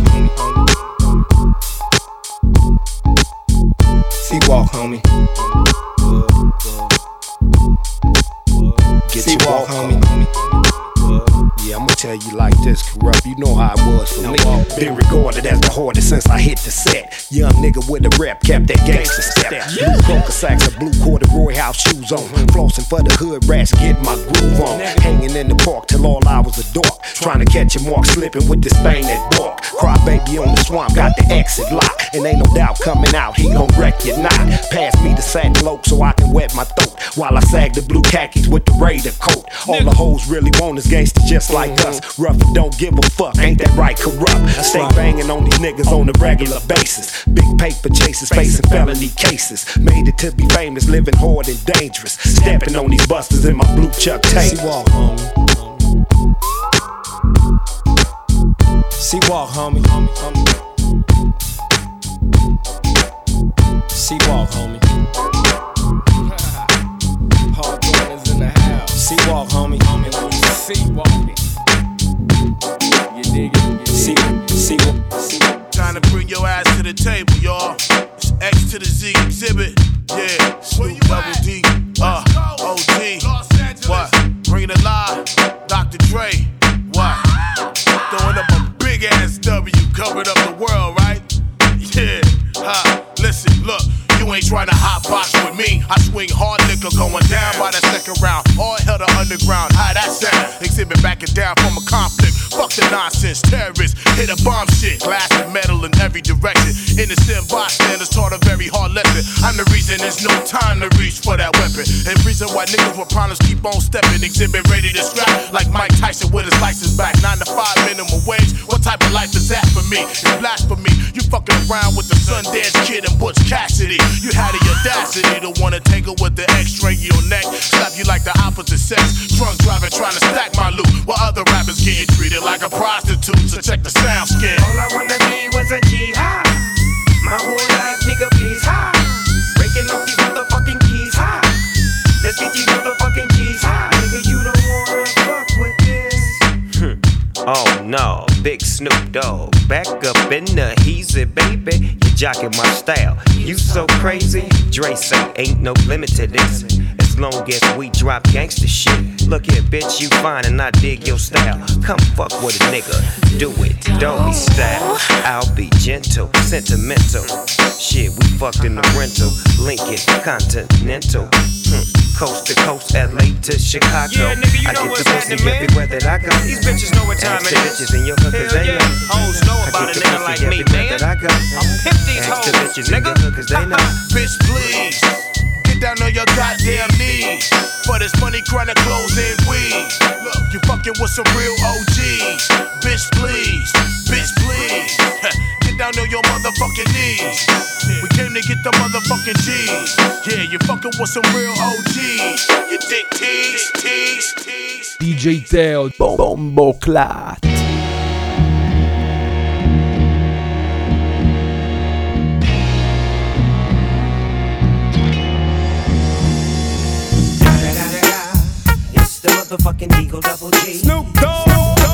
See walk, homie. Get your walk, homie. Yeah, I'ma tell you like this, Corrupt. You know how it was for me. Been regarded as the hardest since I hit the set. Young nigga with a rep, kept that gangster step. Blue coca sacks and blue corduroy house shoes on. Flossing for the hood rats, get my groove on. Hanging in the park till all hours of dark. Trying to catch a mark, slipping with this thing that bark. Cry baby on the swamp, got the exit lock. And ain't no doubt coming out, he gon' wreck your knot. Pass me the sack cloak so I can wet my throat. While I sag the blue khakis with the Raider coat. All the hoes really want is gangster just like us. Rough and don't give a fuck, ain't that right, Corrupt? Stay banging on these niggas on a regular basis. Big paper chases, facing felony cases. Made it to be famous, living hard and dangerous. Stepping on these busters in my blue Chuck tape. See walk, homie. See walk, homie. Hawthorne is in the house. See walk, homie. See walk. You dig it? See, see, see. Trying to bring your ass to the table, y'all. It's X to the Z exhibit. Yeah, Snoop Double D. Uh, O G. What? Bringing it live. Doctor Dre. What? Throwing up a big ass W, covered up the world, right? Yeah. Ha. Listen, look. You ain't trying to hot box with me. I swing hard liquor going down by the second round. All hell to underground. How that sound? Exhibit backing down from a conflict. Fuck the nonsense. Terrorists hit a bomb shit. Glass and metal in every direction. Innocent bystanders taught a very hard lesson. I'm the reason there's no time to reach for that weapon. And reason why niggas with problems keep on stepping. Exhibit ready to scrap like Mike Tyson with his license back. Nine to five minimum wage. What type of life is that for me? It's blasphemy. You fucking around with the Sundance Kid and Butch Cassidy. You had the audacity to wanna tangle with the X-ray in your neck. Slap you like the opposite sex. Drunk driving trying to stack my loot. While other rappers getting treated like a prostitute. So check the sound skin. All I wanna be was a G high. My whole life, nigga, please high. Breaking off these motherfucking keys high. Let's get these motherfucking keys high. Nigga, you don't wanna fuck with this. Oh no. Dog, Big Snoop Dogg. Back up in the heezy, baby. You jockin' my style. You so crazy. Dre say ain't no limit to this. As long as we drop gangsta shit. Look here, bitch, you fine and I dig your style. Come fuck with a nigga. Do it, don't be style. I'll be gentle, sentimental. Shit, we fucked in the rental. Lincoln, Continental. Hmm. Coast to coast, L A to Chicago. Yeah, nigga, you I know get what's the pussy happening, man. everywhere that I go. These bitches know what time Ask it the is. bitches in your hood, cause Hell they yeah. know. Hoes know I about get a the nigga pussy like me, everywhere man. that I go. I'm pimp these Ask the hoes, bitches in nigga. your hood, cause they know. Bitch, please. Get down on your goddamn knees. For this money, chronic clothes and weed. Look, you fucking with some real O Gs. Bitch, please. Bitch, please. Get down on your motherfucking knees. We came to get the motherfucking G's. Yeah, you fucking with some real O Gs. You dick tease, tease, tease. D J Teo, Bombo Clat. It's the motherfucking Eagle Double G. Snoop Dogg.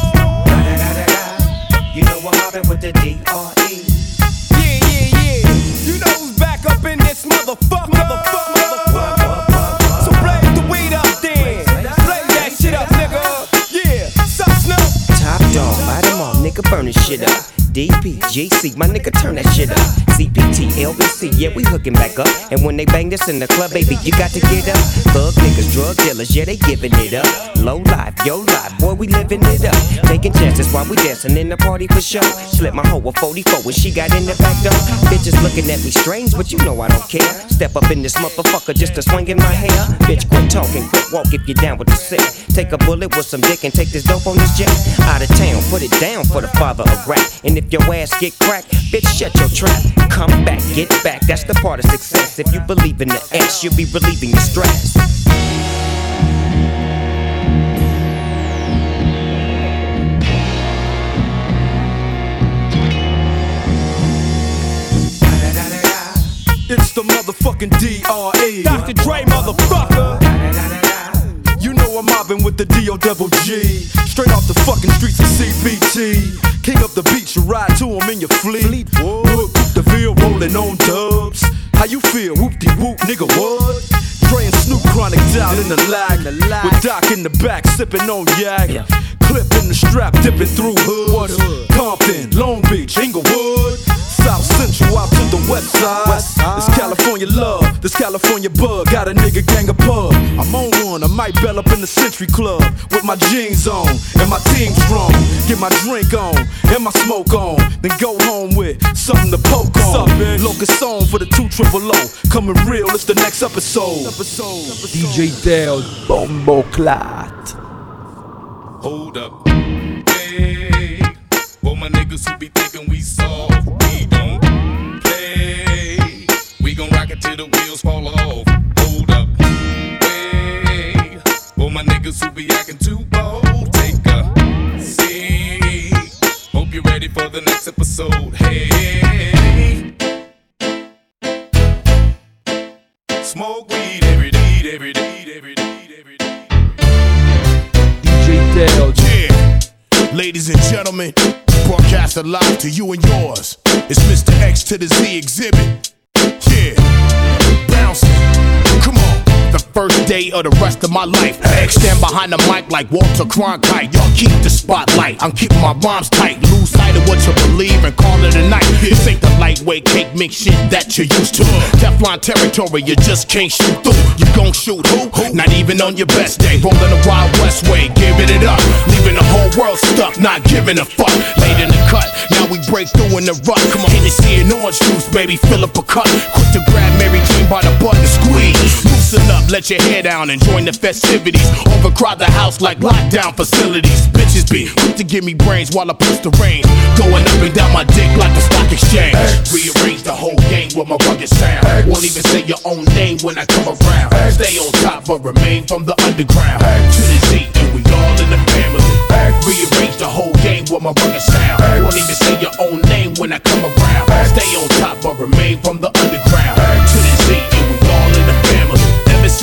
You know I'm mobbing with the D R E. Yeah, yeah, yeah. You know who's back up in this motherfucker. Motherfucker, motherfucker. So blaze the weed up then. Blaze that shit up, nigga. Yeah. Sup, Snoop? Top dog, bite them all, nigga, burn this shit up. D P, G C, my nigga, turn that shit up. C P T, L B C, yeah, we hooking back up. And when they bang this in the club, baby, you got to get up. Thug niggas, drug dealers, yeah, they giving it up. Low life, yo life, boy, we living it up. Taking chances while we dancing in the party for show. Slip my hoe a forty-four when she got in the back door. Bitches looking at me strange, but you know I don't care. Step up in this motherfucker just to swing in my hair. Bitch, quit talking, quit walk if you're down with the sick. Take a bullet with some dick and take this dope on this jet. Out of town, put it down for the father of rap. And if your ass get cracked, bitch, shut your trap. Come back, get back, that's the part of success. If you believe in the X, you'll be relieving your stress. It's the motherfucking D R E. Doctor Dre, motherfucker. You know I'm mobbing with the D O double G. Straight off the fucking streets of C B T. King up the beach, you ride to him in your fleet. Look, the field rolling on dubs. How you feel? Whoop-de-whoop, nigga, what? Dre and Snoop Chronic down in the lag. With Doc in the back, sipping on yak. Clip in the strap, dipping through hoods. Compton, Long Beach, Inglewood. South Central out to the west side. West side. This California love, this California bug. Got a nigga gang of pub. I'm on one, I might bell up in the Century Club with my jeans on and my team strong. Get my drink on and my smoke on. Then go home with something to poke on. Locust song for the two triple O. Coming real, it's the next episode. episode. D J Teo, Bombo Clat. Hold up. Hey, for my niggas who be thinking we soft, we don't play. We gon' rock it till the wheels fall off. Hold up. Hey, for my niggas who be acting too bold, take a seat. Hope you're ready for the next episode. Hey, smoke weed every day, every day, every day, every day. D J Teo. Yeah, ladies and gentlemen, broadcasted live to you and yours. It's Mister X to the Z exhibit. Yeah, bouncing. Come on. The first day of the rest of my life. X stand behind the mic like Walter Cronkite. Y'all keep the spotlight. I'm keeping my rhymes tight. Lose sight of what you believe and call it a night. This ain't the lightweight cake mix shit that you're used to. Teflon territory, you just can't shoot through. You gon' shoot who? Not even on your best day. Rolling the Wild West way, giving it up. Leaving the whole world stuck, not giving a fuck. Late in the cut, now we break through in the rut. Come on, Hennessy and orange juice, baby, fill up a cup. Quick to grab Mary Jane by the butt and squeeze. Loosen up, let your hair down and join the festivities. Overcrowd the house like lockdown facilities. Bitches be quick to give me brains while I push the range. Going up and down my dick like the stock exchange. Rearrange the whole game with my rugged sound. Won't even say your own name when I come around. Stay on top but remain from the underground. To the Z and we all in the family. Rearrange the whole game with my rugged sound. Won't even say your own name when I come around. Stay on top but remain from the underground. To the Z and we all in the family. Ever since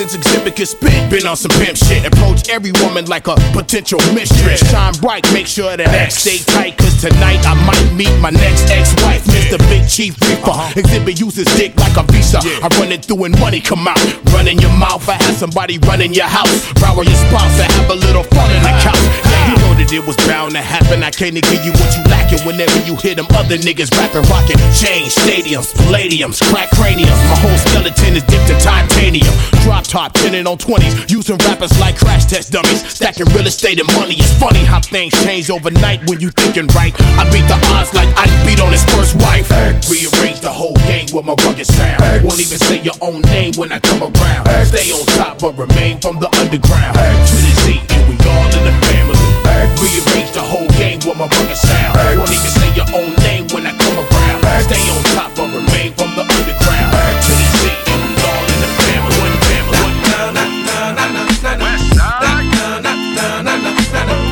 cause exhibit can spit. Been on some pimp shit. Approach every woman like a potential mistress. Shine bright, make sure that X stay tight, cause tonight I might meet my next ex-wife, Mister Big Chief Reaper. Exhibit uses dick like a visa. I run it through and money come out. Run in your mouth, I have somebody run in your house. Rower your spouse, I have a little fun in the couch. Yeah, you know that it was bound to happen. I can't give you what you lacking whenever you hear them other niggas rapping, rocking. Change stadiums, palladiums, crack craniums. My whole skeleton is dipped in titanium. Drop top, tenning on twenties, using rappers like crash test dummies. Stacking real estate and money. It's funny how things change overnight when you thinking right. I beat the odds like I beat on his first wife. Rearrange the whole game with my rugged sound. Won't even say your own name when I come around. Stay on top but remain from the underground. To the Z and we all in the family. Rearrange the whole game with my rugged sound. Won't even say your own name when I come around. Stay on top but remain from the underground. To the Z and we all in the family. One family. Na na na na na na na. West side. Na na na na na na na.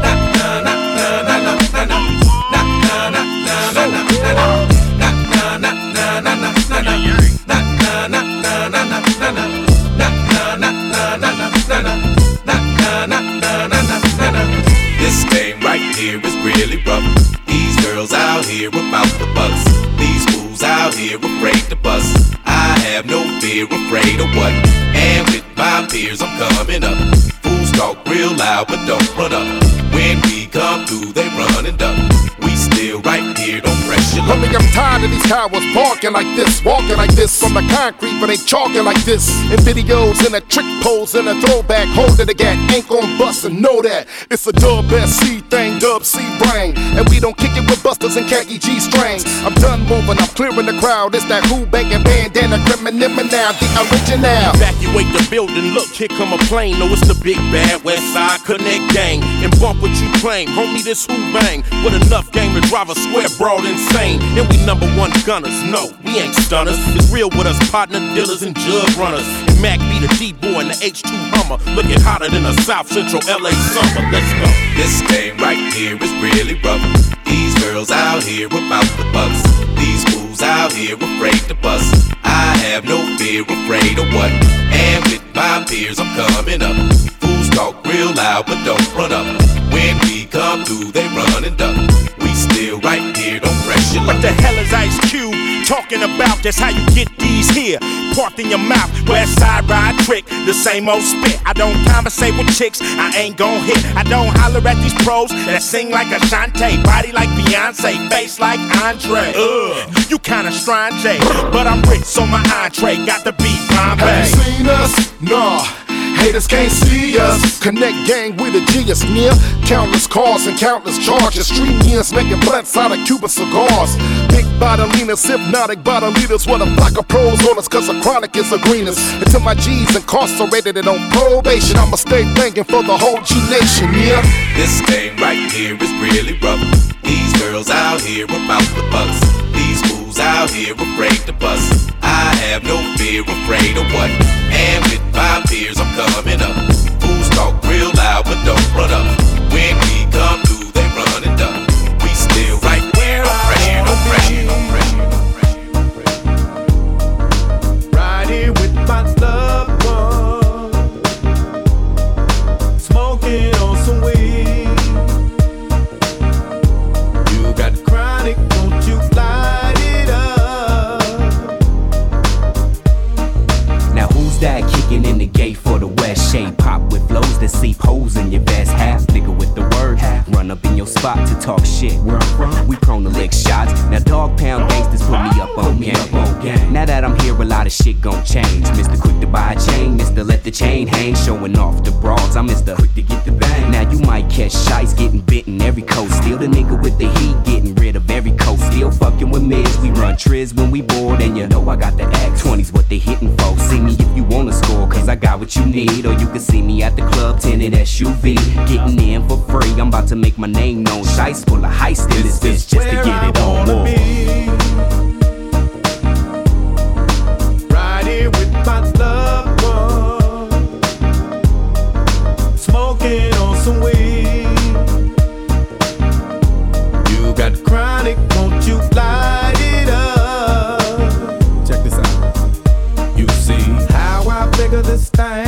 This game right here is really rough. These girls out here about the bucks. These fools out here afraid to bust. I have no fear, afraid of what? And with my peers I'm coming up. Fools talk real loud but don't run up. When we come through they run and duck. We still right here, don't press your luck. Homie, I'm tired of these cowards barking like this, walking like this from the concrete, but they chalking like this. In videos, in a trick pose, in a throwback, holding the gat, ain't gon' bust and know that. It's a dub S C thing, dub C brain, and we don't kick it with busters and khaki G strings. I'm done moving, I'm clearing the crowd. It's that who banging bandana, criminal now, the original. Evacuate the building, look, here come a plane. No, it's the big bad West Side Connect gang. And bump what you claim, homie, this who bang. With enough game to drive a square broad insane. And we number one gunners, no, we ain't stunners. It's real with us, partner dealers and jug runners. And Mac be the D-boy and the H two Hummer. Looking hotter than a South Central L A summer, let's go. This game right here is really rough. These girls out here about the bucks. These fools out here afraid to bust. I have no fear, afraid of what? And with my peers I'm coming up. Fools talk real loud but don't run up. When we come through they run and duck. We still right here, don't press your luck. What the hell is Ice Cube talking about? That's how you get these here. Parked in your mouth, West Side ride trick, the same old spit. I don't conversate with chicks, I ain't gon' hit. I don't holler at these pros that sing like Ashanti, body like Beyonce, face like Andre. Ugh, you kinda strange, but I'm rich, so my entree got the beat Bombay. Have you seen us? Nah. Haters can't see us. Connect gang with a genius near. Countless cars and countless charges. Street years making blunts out of Cuban cigars. Big bodilinas, hypnotic bodilitas. What a flock of pros on us, cause the chronic is the greenest. Until my G's incarcerated and on probation, I'ma stay thinking for the whole G Nation, yeah. This game right here is really rough. These girls out here about the bucks. These fools out here afraid to bust. I have no fear, afraid of what? And with my peers I'm coming up. Fools talk real loud but don't run up. When we come through they run and duck. We still right here, don't pressure, don't pressure, don't pressure, don't pressure, don't pressure. Right here with my loved one, smoking on some weed. You got chronic, don't you light it up. Now who's that kicking in the gate for the West? Shade pop with flows that seep holes in your vest. Half nigga with the word, half run up in your spot to talk shit. Where I'm from, we prone to lick shots. Now dog pound gangsters put me up on game. Now that I'm here, a lot of shit gon' change. Mister Quick to buy a chain, Mister Let the chain hang, showing off the broads. I'm Mister Quick to get the bang. Now you might catch shites getting bitten every coast. Still the nigga with the heat, getting rid of every coast. Still fucking with mids, we run triz when we bored, and you know I got the X twenties, what they hitting for. See me if you wanna score, cause I got what you need. Or you can see me at the club, tinted S U V, getting in for free. I'm about to make my name known. Shice full of heist in this bitch just to get it on more. Right here with my loved one, smoking on some weed. You got chronic, won't you light it up? Check this out. You see how I figure this thing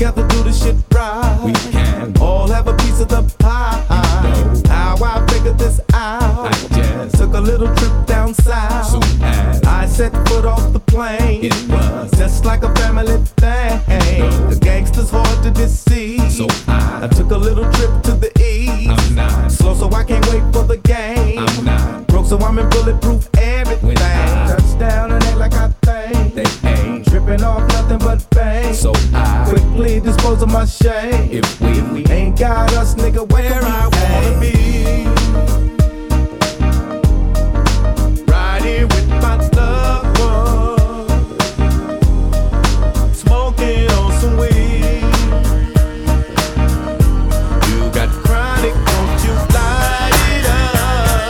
together, do the shit right. We can all have a piece of the pie. You know how I figured this out. I just took a little trip down south. Soon as I set foot off the plane, it was just like a family thing. You know, the gangsters hard to deceive. So I, I took a little trip to the east. I'm not slow, so I can't wait for the game. I'm not broke, so I'm in bulletproof everything. Touchdown and act like I think they ain't tripping off nothing but fame. So I quickly dispose of my shame. If we, if we ain't got us, nigga, where I wanna be. Right here with my loved one, smoking on some weed. You got chronic, won't you light it up?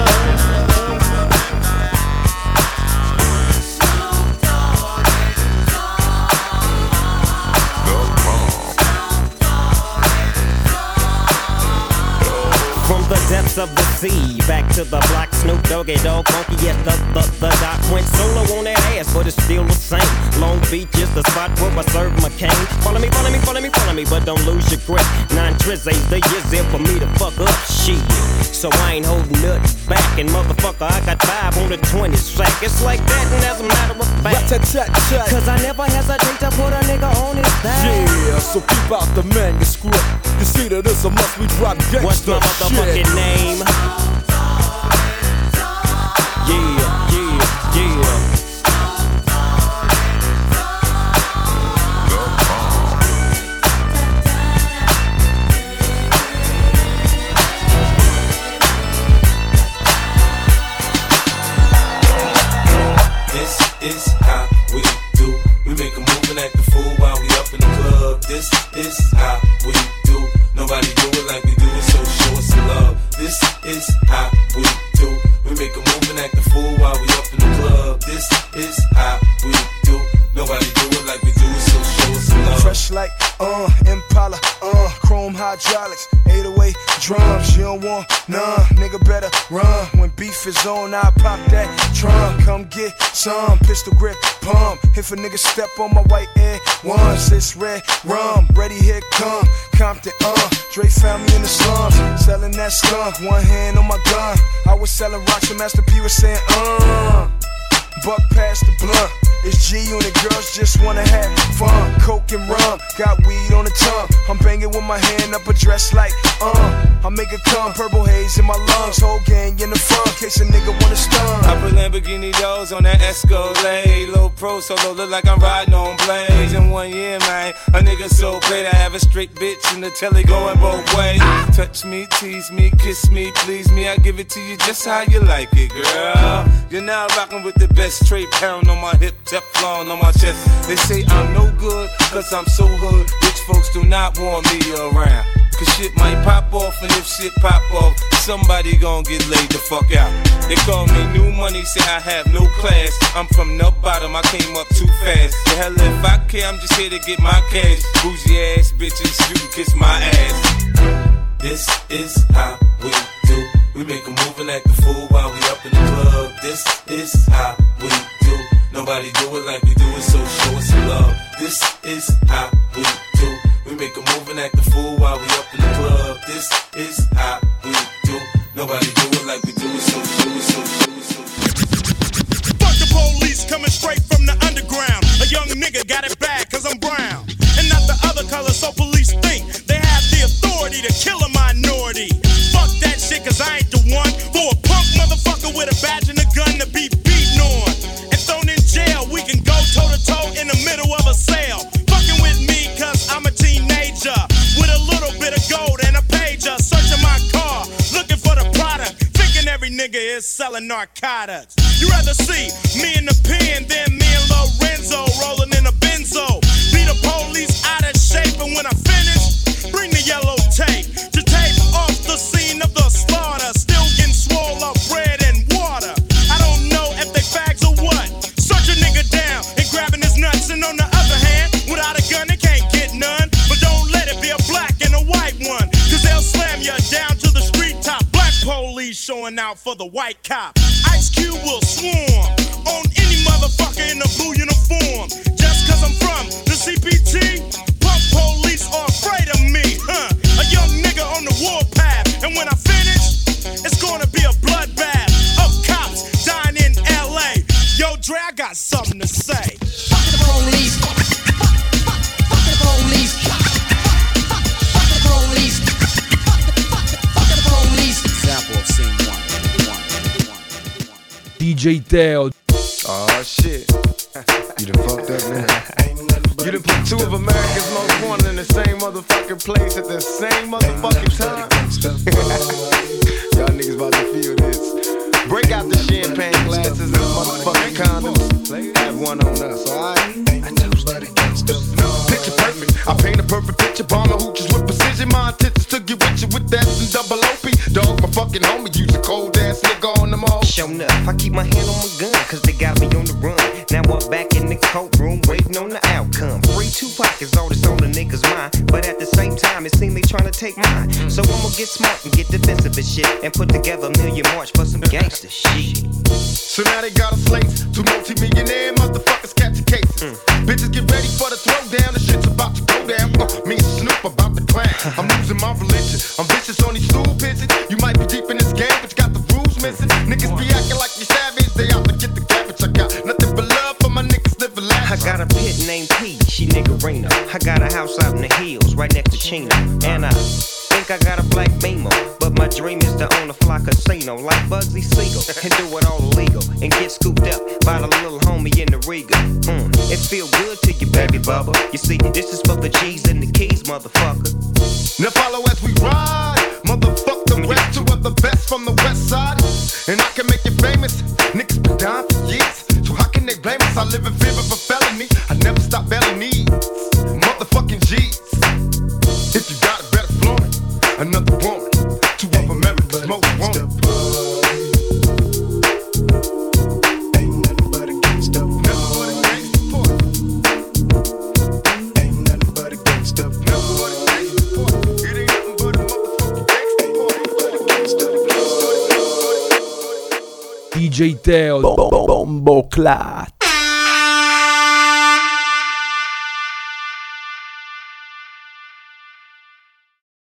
From the depths of the sea, back to the block, Snoop Doggy Dogg, funky as the, the, the doc went solo on that ass, but it's still the same. Long Beach is the spot where I serve my cane. Follow me, follow me, follow me, follow me, but don't lose your grip. Nine trizzies, the years there for me to fuck up shit. So I ain't holding nothing back, and motherfucker, I got five on the twenty sack. It's like that, and as a matter of fact, cause I never hesitate to put a nigga on his back. Yeah, so keep out the manuscript. You see that it's a must, we drop gangsta. What's my motherfucking name? Yeah, yeah, yeah. This is how we do. We make a move and act a fool while we up in the club. This is how we do. Nobody do it like we do it, so show us some love. This is how we do. We make a move and act a fool while we up in the club. This is how we do. Nobody do it like we do it, so show us some love. Fresh like, uh, Impala, uh, chrome hydraulics, eight oh eight drums. You don't want none, nigga better run. When beef is on, I pop that trunk. Come get some, pistol grip, pump. If a nigga step on my white air once, it's red rum. Ready, here come Compton, uh. Dre found me in the slums, selling that skunk. One hand on my gun. I was selling rocks and Master P was saying, uh. Buck past the blunt. It's G Unit, girls just wanna have fun. Coke and rum, got weed on the tongue. I'm banging with my hand up a dress like, uh. I make it come, purple haze in my lungs. Whole gang in the front, case a nigga wanna stun. I put Lamborghini doors on that Escalade. Low pro solo, look like I'm riding on blades. In one year, man, a nigga so great. I have a straight bitch in the telly going both ways. Touch me, tease me, kiss me, please me. I give it to you just how you like it, girl. You're now rocking with the best straight pound on my hip, Teflon on my chest. They say I'm no good, cause I'm so hood. Rich folks do not want me around. Cause shit might pop off, and if shit pop off, somebody gon' get laid the fuck out. They call me new money, say I have no class. I'm from the bottom, I came up too fast. The hell if I care, I'm just here to get my cash. Bougie ass bitches, you can kiss my ass. This is how we do. We make a move and act a fool while we up in the club. This is how we do. Nobody do it like we do it, so show us some love. This is how we do. We make a move and act a fool while we up in the club. This is how we do. Nobody do it like we do it, so show us, so show us, so Fuck the police coming straight from the underground. A young nigga got it bad cause I'm brown. And not the other color, so police think they have the authority to kill a minority. Fuck that shit cause I ain't the one for a punk motherfucker with a badge and a gun to be beaten on. And thrown in jail, we can go toe to toe in the middle of a sale. Fucking with me cause I'm a teenager with a little bit of gold and a pager. Searching my car, looking for the product. Thinking every nigga is selling narcotics. You rather see me in the pen than me and Lorenzo rolling in a benzo. Be the police out of shape, and when I finish, bring the yellow tape to tape off the scene of the slaughter. Still getting swole up bread and water. I don't know if they fags or what. Search a nigga down and grabbing his nuts, and on the other hand, without a gun they can't get none. But don't let it be a black and a white one, cause they'll slam you down to the street top. Black police showing out for the white cop. Ice Cube will swarm on any motherfucker in a blue uniform. Just cause I'm from the C P T, pump police police are afraid of me, huh? A young nigga on the warpath, and when I finish, it's gonna be a bloodbath of cops dying in L A. Yo, Dre, I got something to say. Fuck the police. Fuck the police. Fuck the police. Fuck the police. Example of scene one. D J Teo. Oh shit. You done fucked up, man. You done put two of America's most wanted in the same motherfucking place at the same motherfucking time. Y'all niggas about to feel this. Break out the champagne glasses and motherfucking condoms. Have one on us, alright? Picture perfect. I paint a perfect picture. Bomber hooches with precision. My intentions to get with you with that and double O P. Dog, my fucking homie. Use a cold ass nigga on them all. Show enough. I keep my hand on my gun, cause they got me on the run. Now I'm back in the courtroom, waiting on the outcome. Free Tupac is all that's on the niggas' mind, but at the same time, it seems they trying to take mine. So I'ma get smart and get defensive and shit, and put together a million march for some gangster shit. So now they got us slates, two multi-millionaire motherfuckers catching cases. Mm. Bitches get ready for the throwdown, the shit's about to go down. Uh, me and Snoop about to clown. I'm losing my religion, I'm vicious on these stool pitches. You might be deep in this game, but you got the rules missing. Niggas be acting like you savage, they out to get the cabbage. I got nothing but love for my niggas living lavish. I got a pit named P, she niggerina. I got a house out in the hills, right next to Chino. And I think I got a black Beamer, but my dream is to own a fly casino like Bugsy Siegel and do it all illegal and get scooped up by the little homie in the Riga. Mm, it feel good to you, baby bubba. You see, this is for the G's and the keys, motherfucker. Now follow as we ride, motherfuck the rest. Two of the best from the west side, and I can make you famous. Niggas been down for years, so how can they blame us? I live in fear of a felony. I never stop belly needs, motherfucking G's. If you got it, better flaunt it. Another woman, two of America's most wanted. Ain't nothing but a gangsta boy. Ain't nothing but a gangsta boy. It ain't nothing but a motherfucking gangsta boy. D J Teo. Bombo Clat.